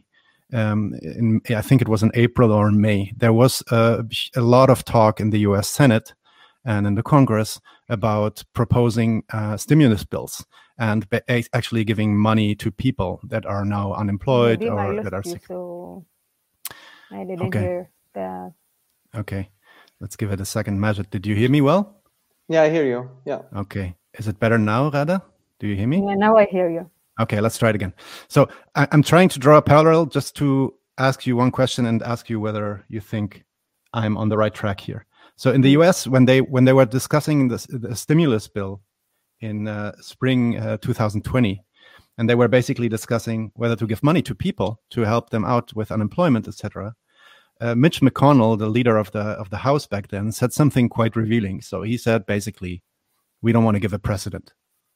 I think it was in April or May, there was a lot of talk in the US Senate and in the Congress about proposing stimulus bills and actually giving money to people that are now unemployed or that are sick. So I didn't hear that. Okay, let's give it a second. Majid, did you hear me well? Yeah, I hear you. Yeah. Okay. Is it better now, Rada? Do you hear me? Yeah, now I hear you. Okay, let's try it again. So I'm trying to draw a parallel just to ask you one question and ask you whether you think I'm on the right track here. So in the US, when they were discussing the stimulus bill in spring 2020, and they were basically discussing whether to give money to people to help them out with unemployment, etc. Mitch McConnell, the leader of the House back then, said something quite revealing. So he said basically, we don't want to give a precedent.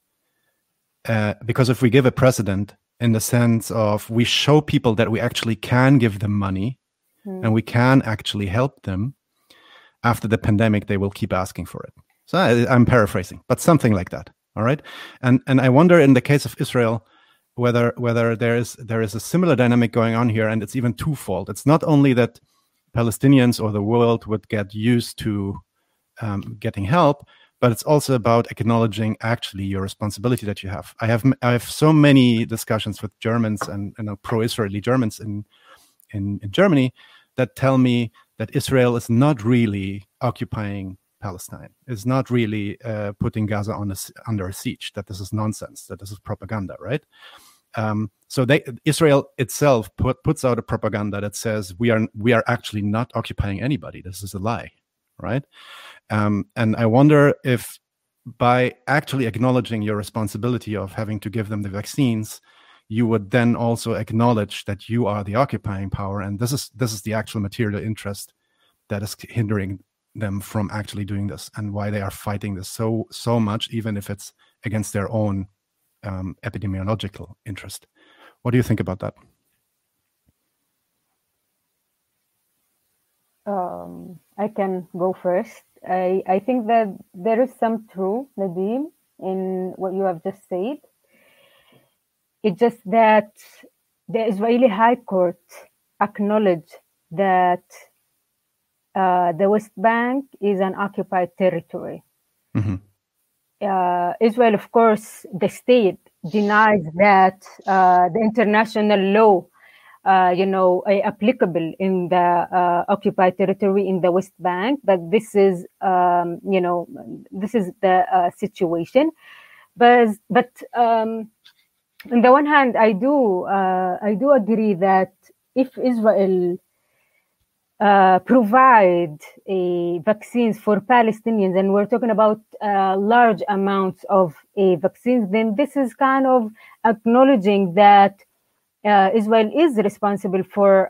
Because if we give a precedent in the sense of we show people that we actually can give them money and we can actually help them, after the pandemic, they will keep asking for it. So I'm paraphrasing, but something like that. All right. And I wonder in the case of Israel, whether there is a similar dynamic going on here, and it's even twofold. It's not only that Palestinians or the world would get used to getting help, but it's also about acknowledging actually your responsibility that you have. I have so many discussions with Germans and pro-Israeli Germans in Germany that tell me that Israel is not really occupying Palestine, is not really putting Gaza under a siege, that this is nonsense, that this is propaganda, right? So Israel itself puts out a propaganda that says we are actually not occupying anybody. This is a lie, right? And I wonder if by actually acknowledging your responsibility of having to give them the vaccines, you would then also acknowledge that you are the occupying power, and this is the actual material interest that is hindering them from actually doing this, and why they are fighting this so much, even if it's against their own epidemiological interest. What do you think about that? I can go first. I think that there is some truth, Nadim, in what you have just said. It's just that the Israeli High Court acknowledged that the West Bank is an occupied territory. Mm-hmm. Israel, of course, the state denies that the international law, applicable in the occupied territory in the West Bank. But this is, this is the situation. But on the one hand, I do agree that if Israel provide vaccines for Palestinians, and we're talking about large amounts of vaccines, then this is kind of acknowledging that Israel is responsible for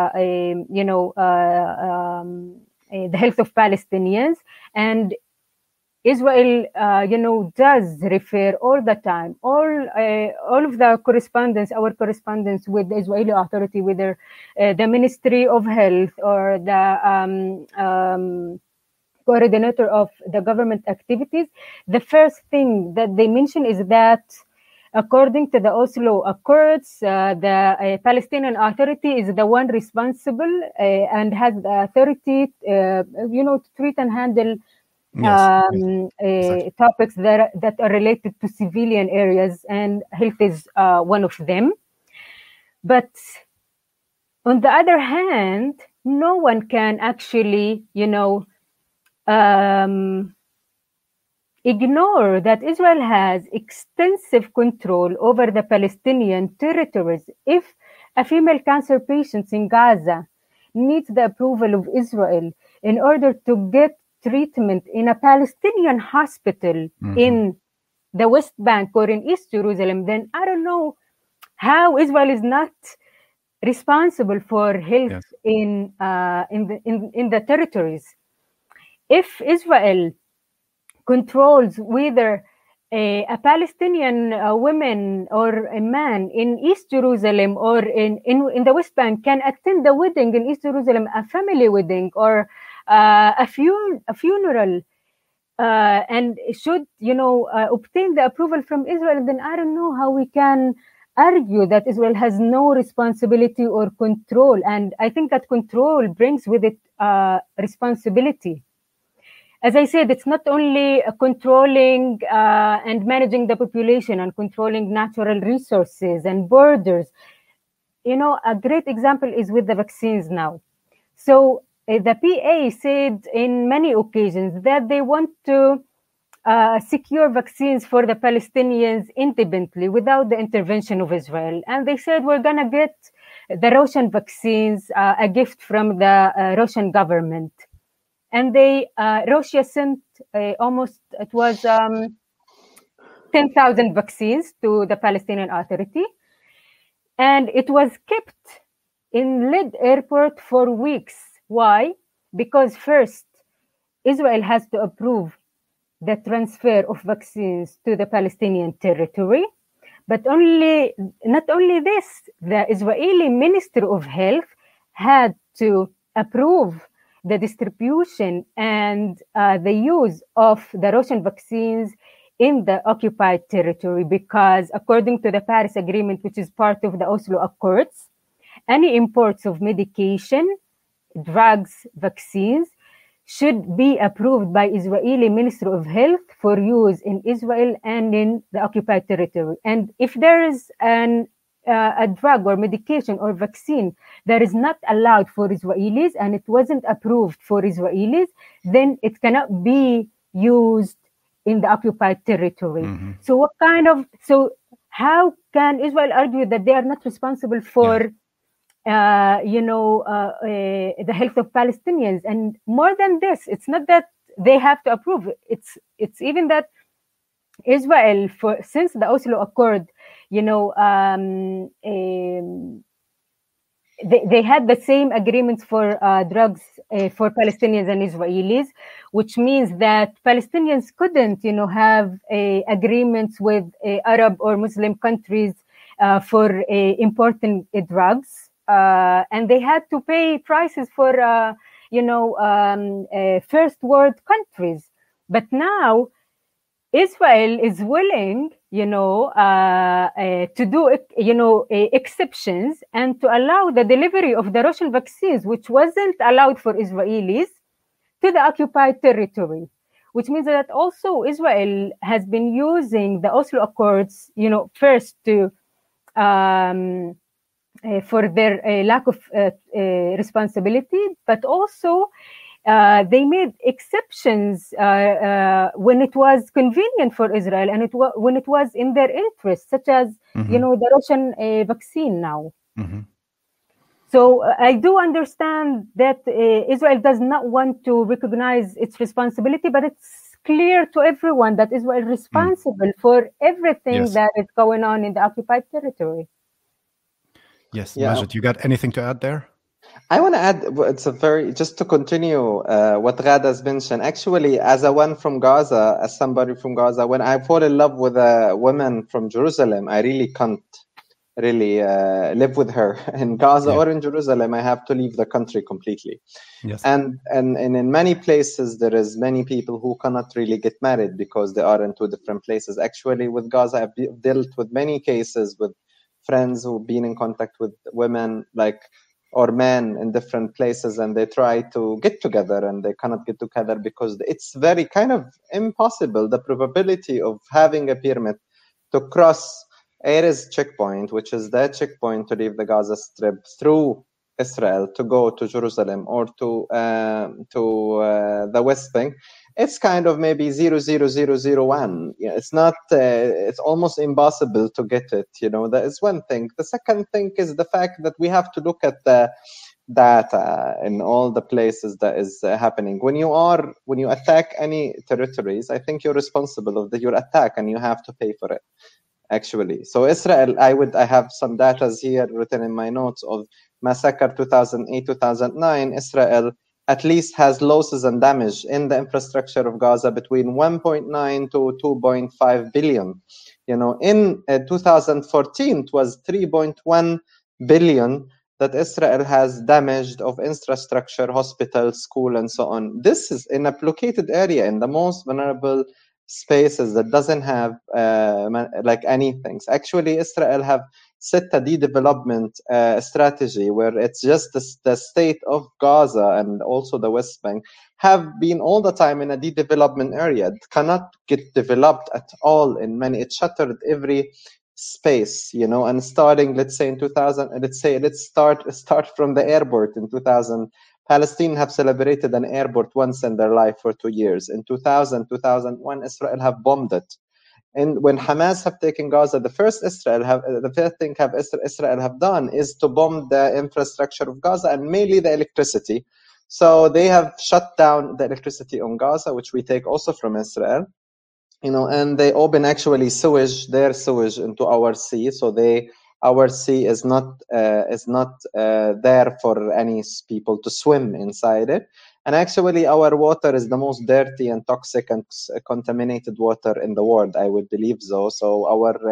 the health of Palestinians, and Israel, does refer all the time, all of the correspondence, our correspondence with the Israeli authority, whether the Ministry of Health or the coordinator of the government activities, the first thing that they mention is that according to the Oslo Accords, the Palestinian Authority is the one responsible and has the authority, to treat and handle exactly. Topics that are related to civilian areas, and health is one of them. But on the other hand, no one can actually, ignore that Israel has extensive control over the Palestinian territories. If a female cancer patient in Gaza needs the approval of Israel in order to get treatment in a Palestinian hospital in the West Bank or in East Jerusalem, then I don't know how Israel is not responsible for health in the territories. If Israel controls whether a Palestinian woman or a man in East Jerusalem or in the West Bank can attend the wedding in East Jerusalem, a family wedding or a funeral, and should, obtain the approval from Israel, then I don't know how we can argue that Israel has no responsibility or control. And I think that control brings with it responsibility. As I said, it's not only controlling and managing the population and controlling natural resources and borders. A great example is with the vaccines now. So the PA said in many occasions that they want to secure vaccines for the Palestinians independently without the intervention of Israel. And they said, we're going to get the Russian vaccines, a gift from the Russian government. And Russia sent almost, it was 10,000 vaccines to the Palestinian Authority. And it was kept in Lid airport for weeks. Why? Because first, Israel has to approve the transfer of vaccines to the Palestinian territory. But not only this, the Israeli Ministry of Health had to approve the distribution and the use of the Russian vaccines in the occupied territory, because according to the Paris Agreement, which is part of the Oslo Accords, any imports of medication, drugs, vaccines should be approved by Israeli Ministry of Health for use in Israel and in the occupied territory. And if there is a drug or medication or vaccine that is not allowed for Israelis and it wasn't approved for Israelis, then it cannot be used in the occupied territory. Mm-hmm. So how can Israel argue that they are not responsible for the health of Palestinians? And more than this, it's not that they have to approve. It's even that Israel, since the Oslo Accord, they had the same agreements for drugs for Palestinians and Israelis, which means that Palestinians couldn't, have agreements with Arab or Muslim countries for importing drugs, and they had to pay prices for, first world countries. But now Israel is willing, to do, exceptions and to allow the delivery of the Russian vaccines, which wasn't allowed for Israelis, to the occupied territory, which means that also Israel has been using the Oslo Accords, first to for their lack of responsibility, but also they made exceptions when it was convenient for Israel and when it was in their interest, such as, the Russian vaccine now. Mm-hmm. So I do understand that Israel does not want to recognize its responsibility, but it's clear to everyone that Israel is responsible for everything that is going on in the occupied territory. Yes, Majid, you got anything to add there? I want to add, just to continue what Ghada has mentioned. Actually, as somebody from Gaza, when I fall in love with a woman from Jerusalem, I really can't live with her in Gaza or in Jerusalem. I have to leave the country completely. Yes. And in many places, there is many people who cannot really get married because they are in two different places. Actually, with Gaza, I've dealt with many cases with friends who've been in contact with women or men in different places, and they try to get together and they cannot get together because it's very kind of impossible. The probability of having a permit to cross Erez checkpoint, which is the checkpoint to leave the Gaza Strip through Israel to go to Jerusalem or to the West Bank, it's kind of maybe 0.0001. It's not. It's almost impossible to get it. That is one thing. The second thing is the fact that we have to look at the data in all the places that is happening. When you attack any territories, I think you're responsible of your attack and you have to pay for it. Actually, so Israel, I have some data here written in my notes of massacre 2008-2009. Israel at least has losses and damage in the infrastructure of Gaza between 1.9 to 2.5 billion. In 2014, it was 3.1 billion that Israel has damaged of infrastructure, hospitals, school, and so on. This is in a blockaded area, in the most vulnerable spaces that doesn't have like anything. Actually, Israel have set a de-development strategy where it's just the state of Gaza and also the West Bank have been all the time in a de-development area. It cannot get developed at all in many. It shuttered every space, you know, and starting, let's say in 2000, let's start from the airport in 2000. Palestine have celebrated an airport once in their life for 2 years. In 2001, Israel have bombed it. And when Hamas have taken Gaza, the first thing Israel have done is to bomb the infrastructure of Gaza and mainly the electricity. So they have shut down the electricity on Gaza, which we take also from Israel, you know, and they open actually their sewage into our sea. So our sea is not there for any people to swim inside it. And actually, our water is the most dirty and toxic and contaminated water in the world. I would believe so. So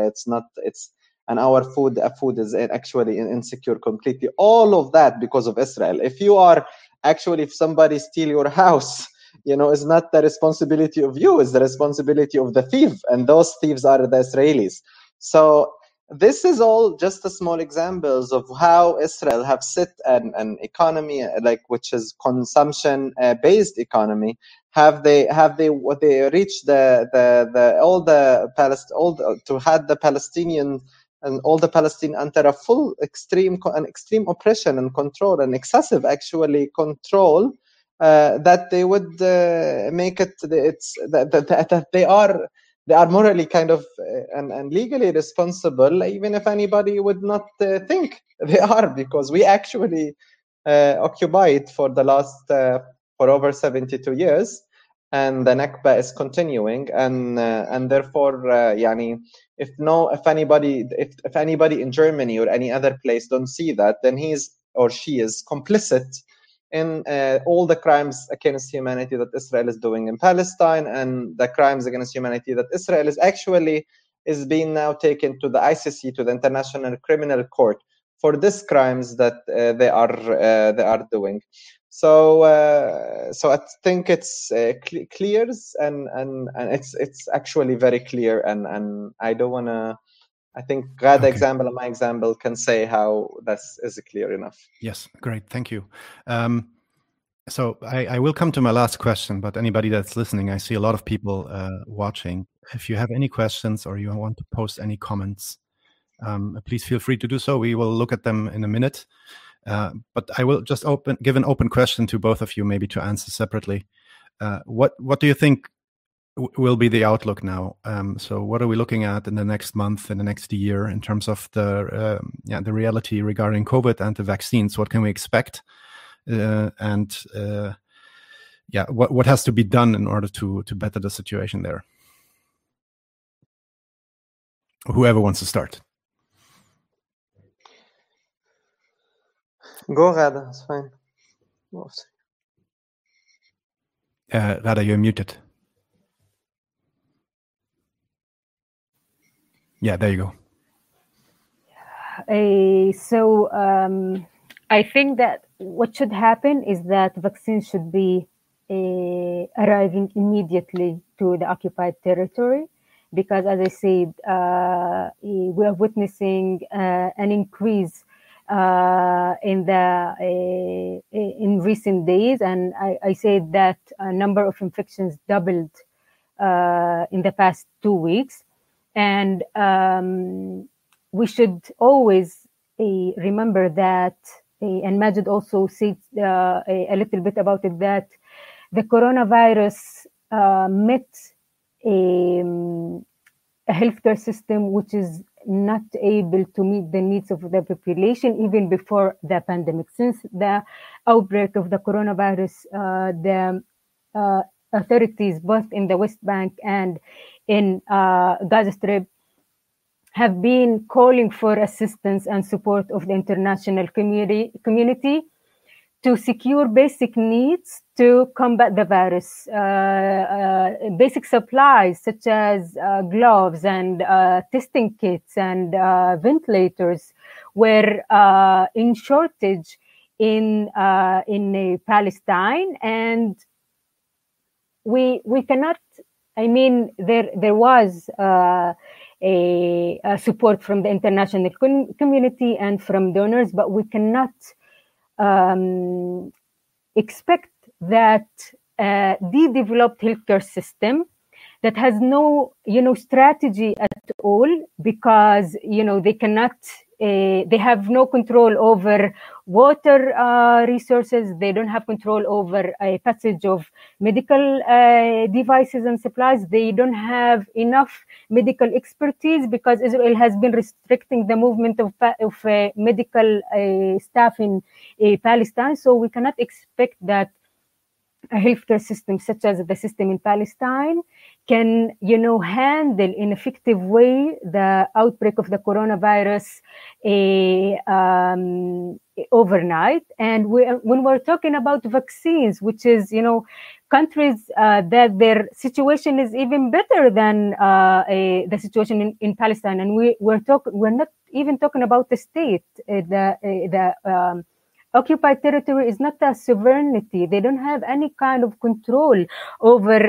our food is actually insecure completely. All of that because of Israel. If somebody steal your house, you know, it's not the responsibility of you. It's the responsibility of the thief, and those thieves are the Israelis. So this is all just a small examples of how Israel have set an economy which is consumption based economy. Have they reached the Palestinian and all the Palestinians under a full extreme oppression and control and excessive actually control, that they would make it that they are morally kind of and legally responsible, even if anybody would not think they are, because we actually occupied for the last for over 72 years, and the Nakba is continuing, and therefore, if anybody in Germany or any other place don't see that, then he's or she is complicit in all the crimes against humanity that Israel is doing in Palestine, and the crimes against humanity that Israel is being now taken to the ICC, to the International Criminal Court, for these crimes that they are doing. So I think it's clear, and it's actually very clear, and I don't want to. I think Ghada example and my example can say how that is clear enough. Yes, great, thank you. So I will come to my last question, but anybody that's listening, I see a lot of people watching. If you have any questions or you want to post any comments, please feel free to do so. We will look at them in a minute. But I will just give an open question to both of you, maybe to answer separately. What do you think will be the outlook now? So what are we looking at in the next month, in the next year, in terms of the reality regarding COVID and the vaccines? What can we expect? What has to be done in order to better the situation there? Whoever wants to start. Go, Ghada, it's fine. Ghada, you're muted. Yeah, there you go. I think that what should happen is that vaccines should be arriving immediately to the occupied territory, because, as I said, we are witnessing an increase in recent days, and I said that a number of infections doubled in the past 2 weeks. And we should always remember that, and Majid also said a little bit about it, that the coronavirus met a healthcare system which is not able to meet the needs of the population even before the pandemic. Since the outbreak of the coronavirus, the authorities both in the West Bank and in Gaza Strip have been calling for assistance and support of the international community to secure basic needs to combat the virus. Basic supplies such as gloves and testing kits and ventilators were in shortage in Palestine, and we cannot. I mean, there was a support from the international community and from donors, but we cannot expect that the developed healthcare system that has no, strategy at all, because, they cannot, they have no control over water resources. They don't have control over a passage of medical devices and supplies. They don't have enough medical expertise because Israel has been restricting the movement of medical staff in Palestine. So we cannot expect that a healthcare system such as the system in Palestine can, handle in effective way the outbreak of the coronavirus overnight. And when we're talking about vaccines, which is, countries that their situation is even better than the situation in Palestine, and we're not even talking about the state. The occupied territory is not a sovereignty. They don't have any kind of control over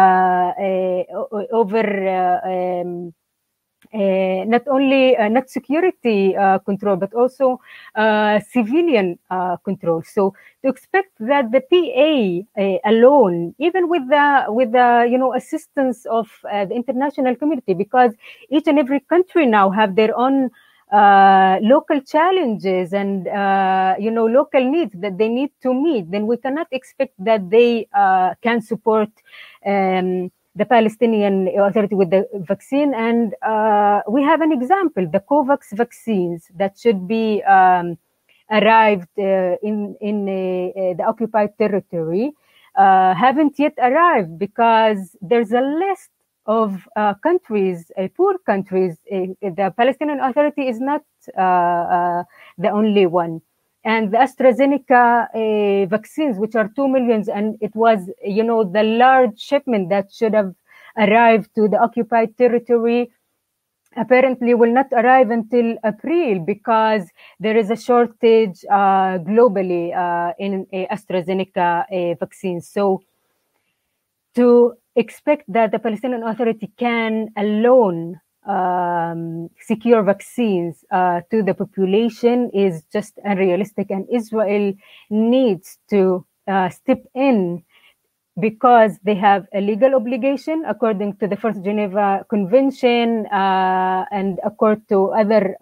not only not security control, but also civilian control. So to expect that the PA alone, even with the assistance of the international community, because each and every country now have their own local challenges and local needs that they need to meet, then we cannot expect that they can support the Palestinian Authority with the vaccine. And we have an example, the COVAX vaccines that should be arrived in the occupied territory haven't yet arrived because there's a list of countries, poor countries. The Palestinian Authority is not the only one. And the AstraZeneca vaccines, which are 2 million, and it was, the large shipment that should have arrived to the occupied territory, apparently will not arrive until April because there is a shortage globally in AstraZeneca vaccines. So to expect that the Palestinian Authority can alone secure vaccines to the population is just unrealistic, and Israel needs to step in because they have a legal obligation according to the First Geneva Convention and according to other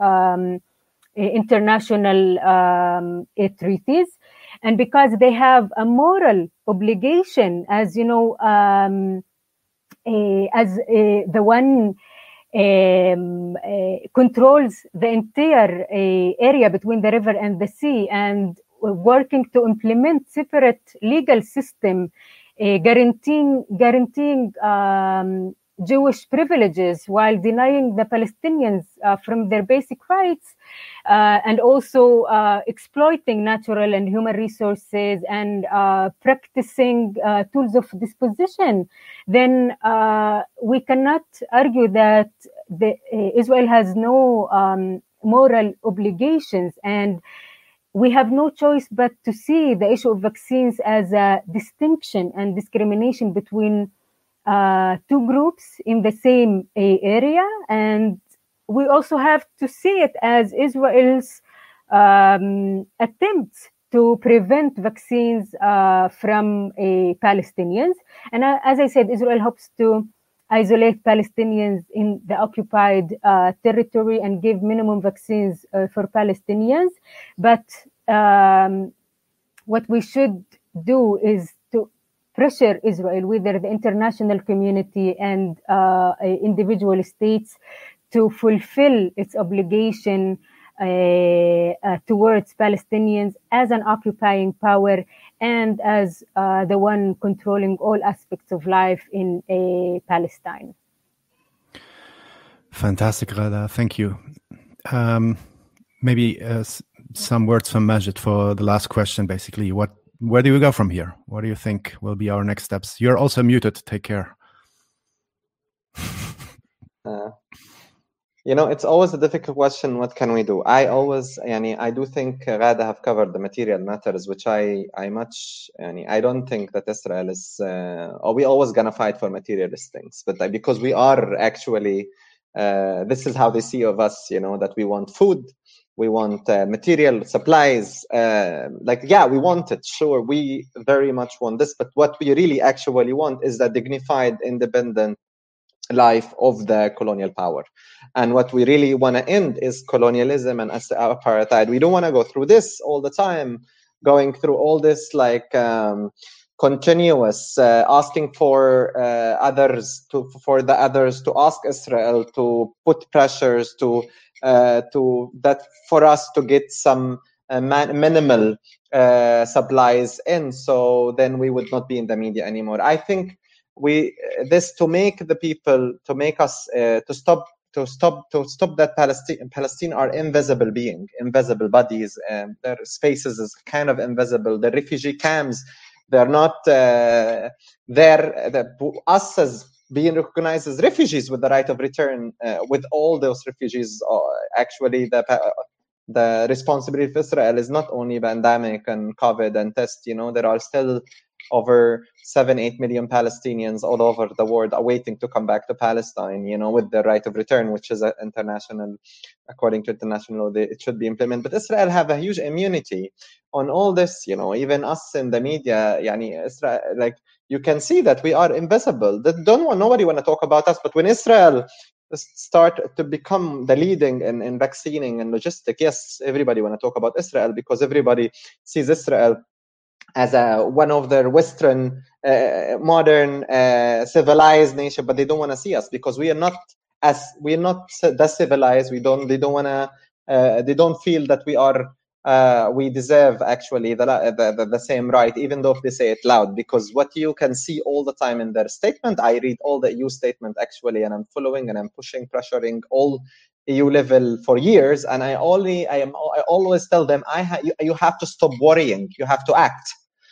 international treaties, and because they have a moral obligation, as as the one controls the entire area between the river and the sea, and working to implement separate legal system guaranteeing Jewish privileges while denying the Palestinians from their basic rights, and also exploiting natural and human resources and practicing tools of dispossession, then we cannot argue that Israel has no moral obligations. And we have no choice but to see the issue of vaccines as a distinction and discrimination between two groups in the same area. And we also have to see it as Israel's attempts to prevent vaccines from Palestinians. And as I said, Israel hopes to isolate Palestinians in the occupied territory and give minimum vaccines for Palestinians. But what we should do is to pressure Israel, whether the international community and individual states, to fulfill its obligation towards Palestinians as an occupying power and as the one controlling all aspects of life in Palestine. Fantastic, Ghada. Thank you. Maybe some words from Majid for the last question, basically. Where do we go from here? What do you think will be our next steps? You're also muted. Take care. It's always a difficult question. What can we do? I do think Ghada have covered the material matters, which I don't think that Israel is, or we always gonna fight for materialist things, but because we are actually, this is how they see of us, that we want food, we want material supplies, we want it, sure, we very much want this, but what we really actually want is the dignified, independent life of the colonial power. And what we really want to end is colonialism and apartheid. We don't want to go through this all the time, going through all this continuous asking for the others to ask Israel to put pressures to that for us to get some minimal supplies in, so then we would not be in the media anymore. I think to make the people, to make us to stop that Palestine are invisible being, invisible bodies, and their spaces is kind of invisible. The refugee camps, they're not us as being recognized as refugees with the right of return, with all those refugees. Actually, the responsibility of Israel is not only pandemic and COVID and test. There are still over 7-8 million Palestinians all over the world are waiting to come back to Palestine, with the right of return, which is international, according to international law, it should be implemented. But Israel have a huge immunity on all this, even us in the media, Israel, you can see that we are invisible. Nobody want to talk about us, but when Israel start to become the leading in vaccinating and logistic, yes, everybody want to talk about Israel because everybody sees Israel as one of their Western, modern, civilized nation, but they don't want to see us because we're not that civilized. They don't want to. They don't feel that we deserve actually the same right, even though if they say it loud. Because what you can see all the time in their statement, I read all the EU statement actually, and I'm following and I'm pushing, pressuring all EU level for years, and I always tell them, you have to stop worrying, you have to act.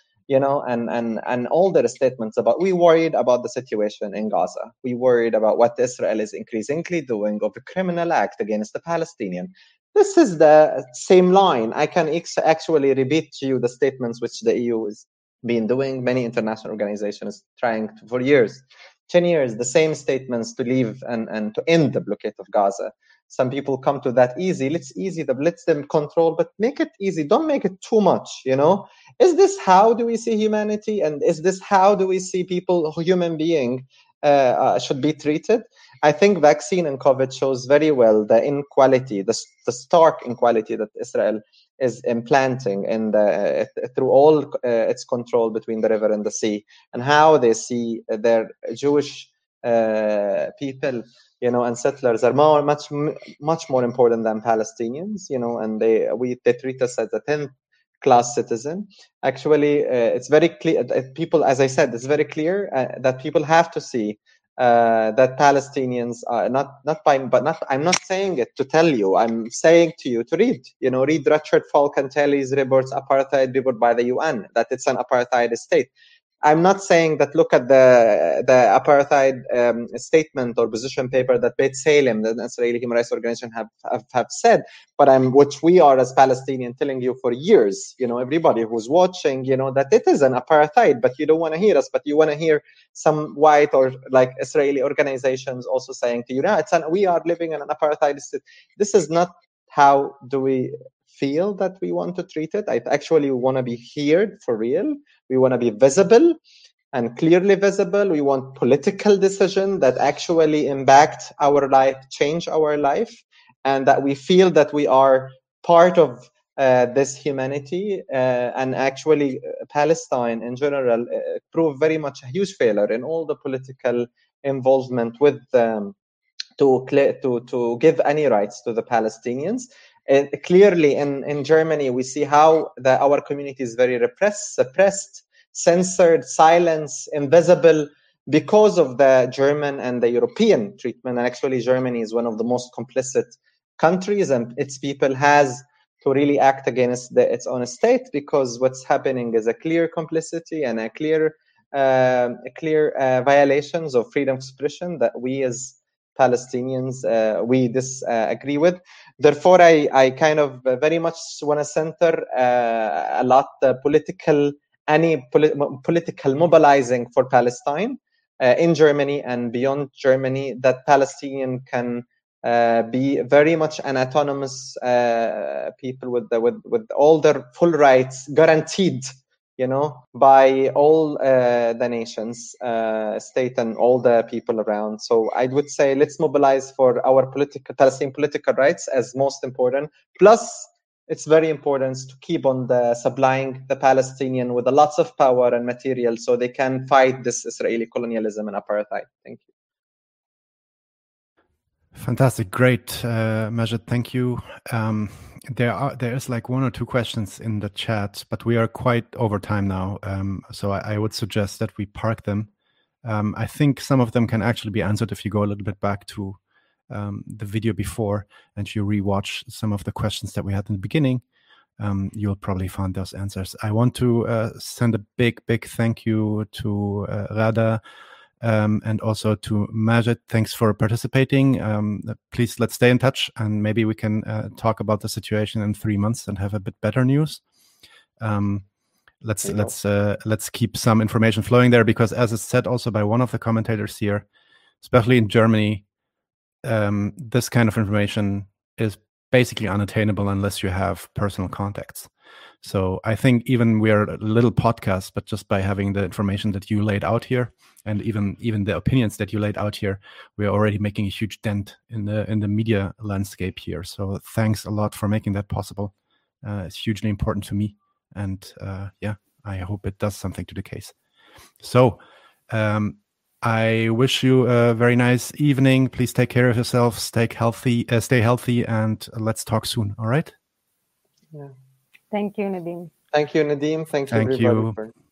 And all their statements about, we worried about the situation in Gaza. We worried about what Israel is increasingly doing of a criminal act against the Palestinian. This is the same line. I can actually repeat to you the statements which the EU has been doing. Many international organizations trying to, for years, 10 years, the same statements to leave and to end the blockade of Gaza. Some people come to that easy. Let's them control, but make it easy. Don't make it too much, Is this how do we see humanity? And is this how do we see people, human being, should be treated? I think vaccine and COVID shows very well the inequality, the stark inequality that Israel is implanting through all its control between the river and the sea, and how they see their Jewish people, and settlers are much more important than Palestinians, and they treat us as a 10th class citizen. Actually, it's very clear. People, as I said, it's very clear that people have to see that Palestinians are I'm not saying it to tell you. I'm saying to you to read. Read Richard Falk and Telly's reports, apartheid report by the UN, that it's an apartheid state. I'm not saying that look at the apartheid statement or position paper that Beit Salem, the Israeli human rights organization, have said, but which we are as Palestinian telling you for years, everybody who's watching, that it is an apartheid, but you don't want to hear us, but you want to hear some white or like Israeli organizations also saying to you, we are living in an apartheid state. This is not how do we feel that we want to treat it. I actually want to be heard for real. We want to be visible and clearly visible. We want political decision that actually impact our life, change our life, and that we feel that we are part of this humanity. And actually, Palestine in general proved very much a huge failure in all the political involvement with to give any rights to the Palestinians. And clearly in Germany, we see how our community is very repressed, suppressed, censored, silenced, invisible because of the German and the European treatment. And actually, Germany is one of the most complicit countries, and its people has to really act against its own state, because what's happening is a clear complicity and a clear violations of freedom of expression that we as Palestinians we disagree with. Therefore, I kind of very much want to center a lot political mobilizing for Palestine in Germany and beyond Germany, that Palestinian can be very much an autonomous people with all their full rights guaranteed, by all the nations, state, and all the people around. So I would say let's mobilize for our Palestinian political rights as most important. Plus, it's very important to keep on supplying the Palestinian with lots of power and material so they can fight this Israeli colonialism and apartheid. Thank you. Fantastic. Great, Majed. Thank you. There is like one or two questions in the chat, but we are quite over time now. So I would suggest that we park them. I think some of them can actually be answered if you go a little bit back to the video before and you rewatch some of the questions that we had in the beginning. You'll probably find those answers. I want to send a big thank you to Rada and also to Majed. Thanks for participating. Please, let's stay in touch, and maybe we can talk about the situation in 3 months and have a bit better news. Let's keep some information flowing there, because as it's said also by one of the commentators here, especially in Germany, this kind of information is basically unattainable unless you have personal contacts. So I think even we're a little podcast, but just by having the information that you laid out here, and even the opinions that you laid out here, we're already making a huge dent in the media landscape here. So thanks a lot for making that possible. It's hugely important to me, and I hope it does something to the case. So I wish you a very nice evening. Please take care of yourself, stay healthy, and let's talk soon. All right? Yeah. Thank you, Nadim. Thank you, Nadim. Thank you, everybody.